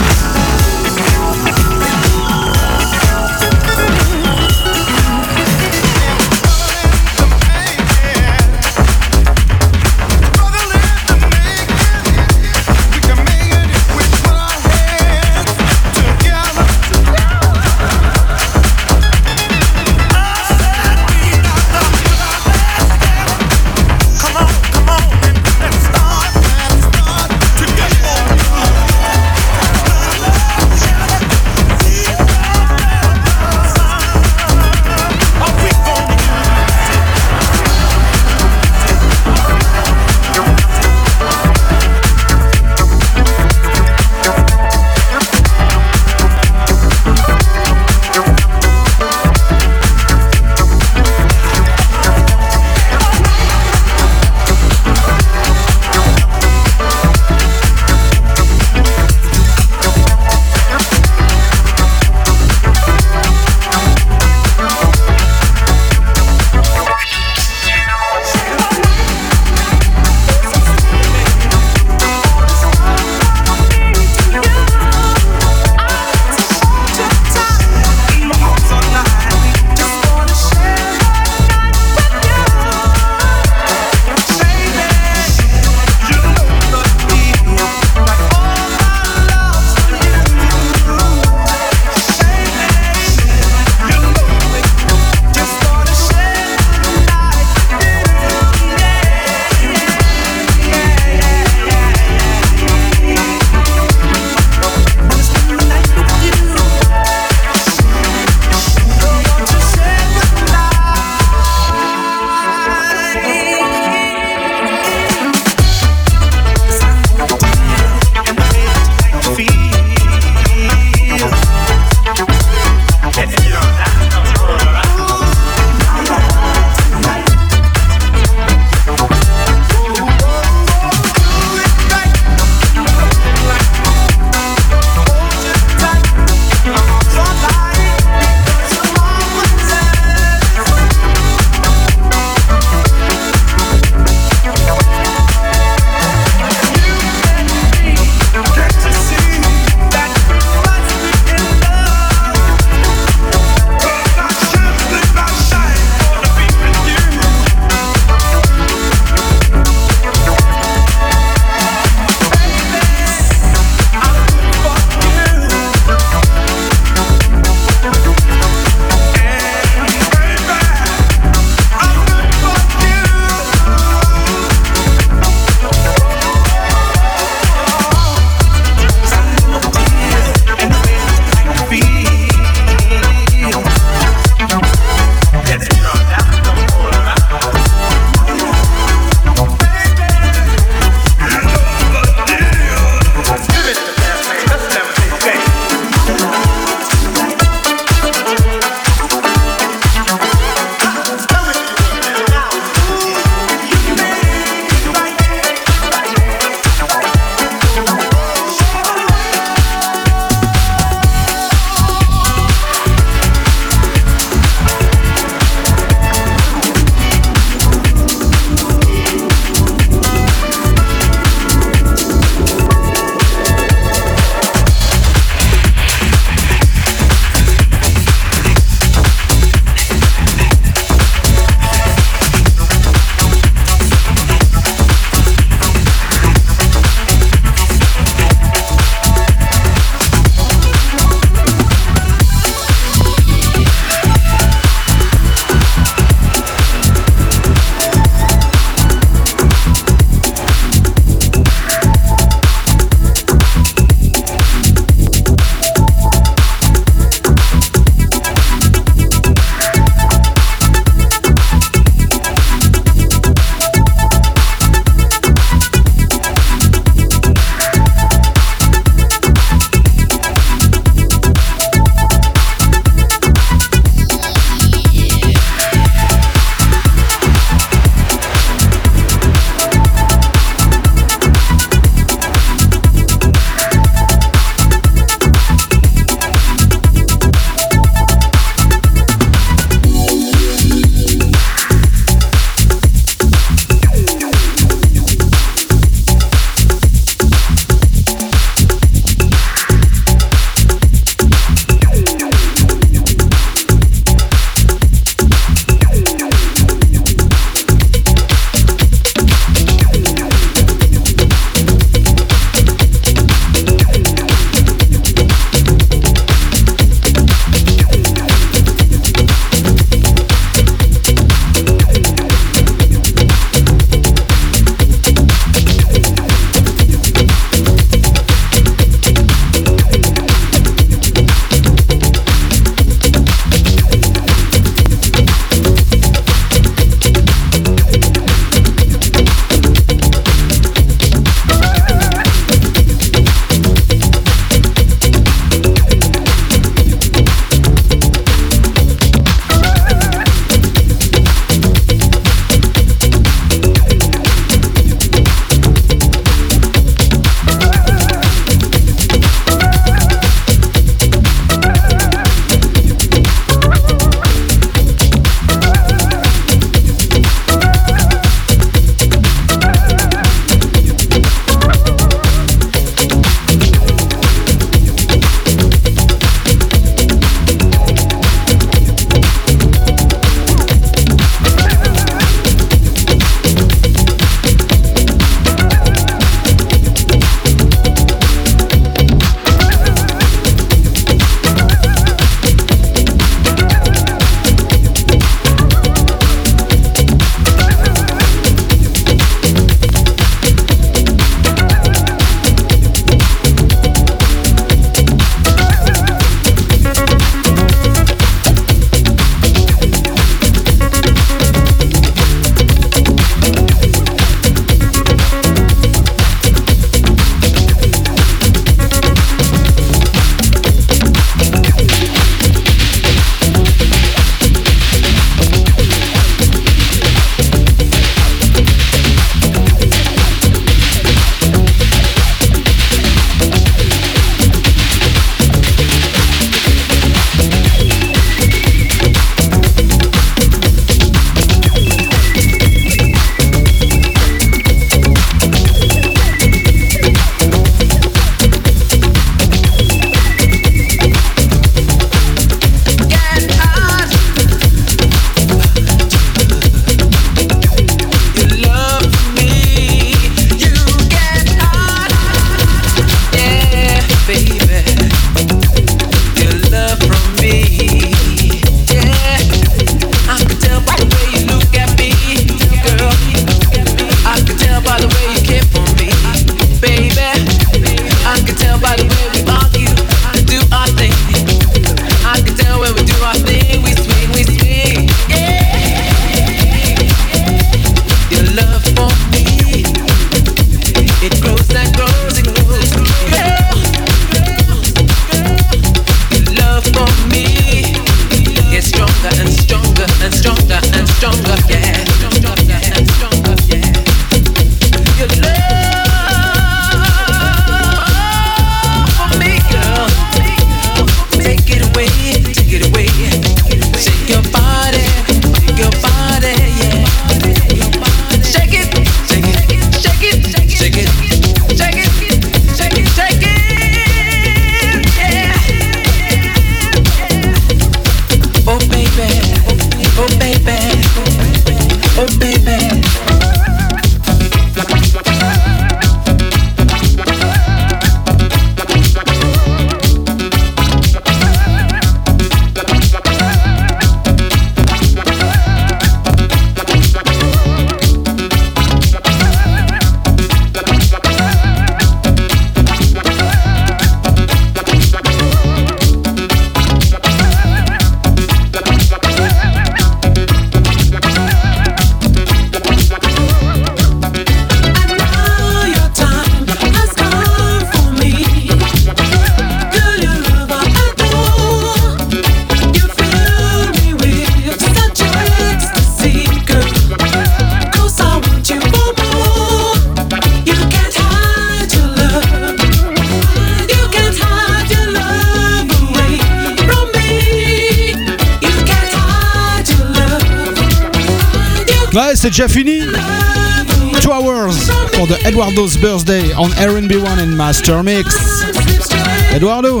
c'est déjà fini. Two hours for the Eduardo's birthday on R and B one and Master Mix. Eduardo.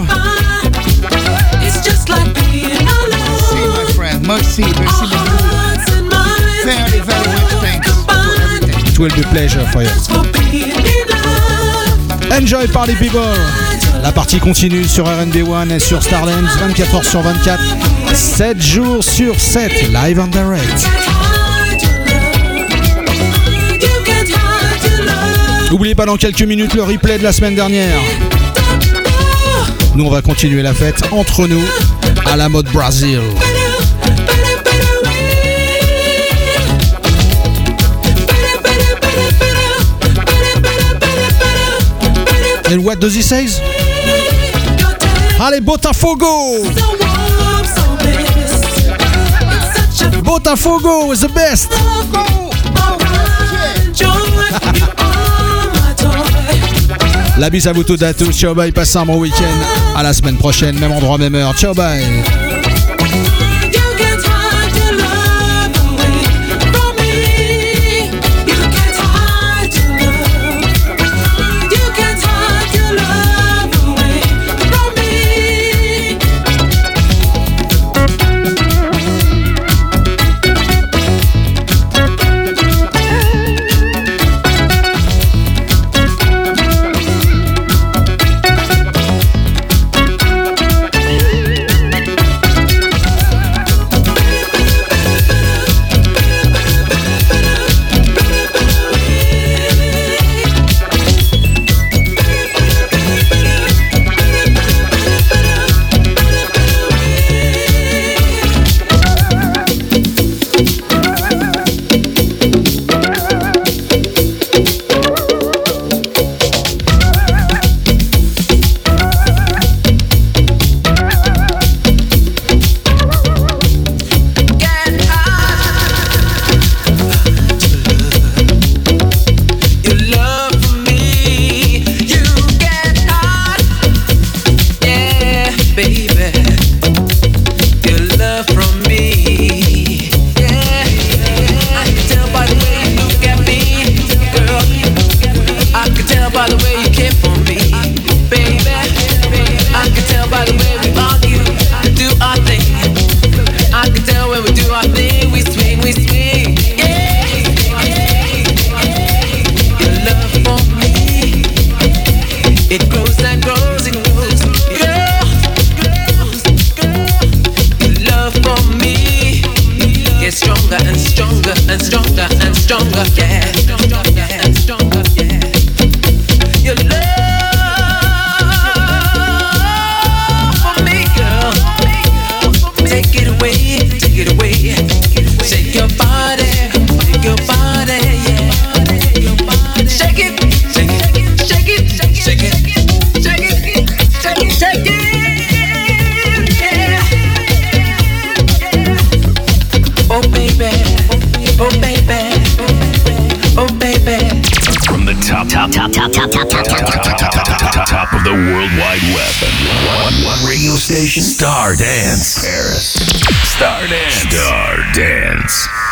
Merci, my friend. Merci, merci beaucoup. Very, very much thanks for everything. It will be a pleasure for you. Enjoy party people. La partie continue sur R and B one et sur Stardance, vingt-quatre heures sur vingt-quatre, sept jours sur sept, live and direct. N'oubliez pas dans quelques minutes le replay de la semaine dernière. Nous on va continuer la fête entre nous à la mode Brazil. And what does he say? Allez, Botafogo! Botafogo is the best! La bise à vous tous à tous. Ciao, bye. Passez un bon week-end. À la semaine prochaine, même endroit, même heure. Ciao, bye. Stardance Paris. Stardance. Stardance.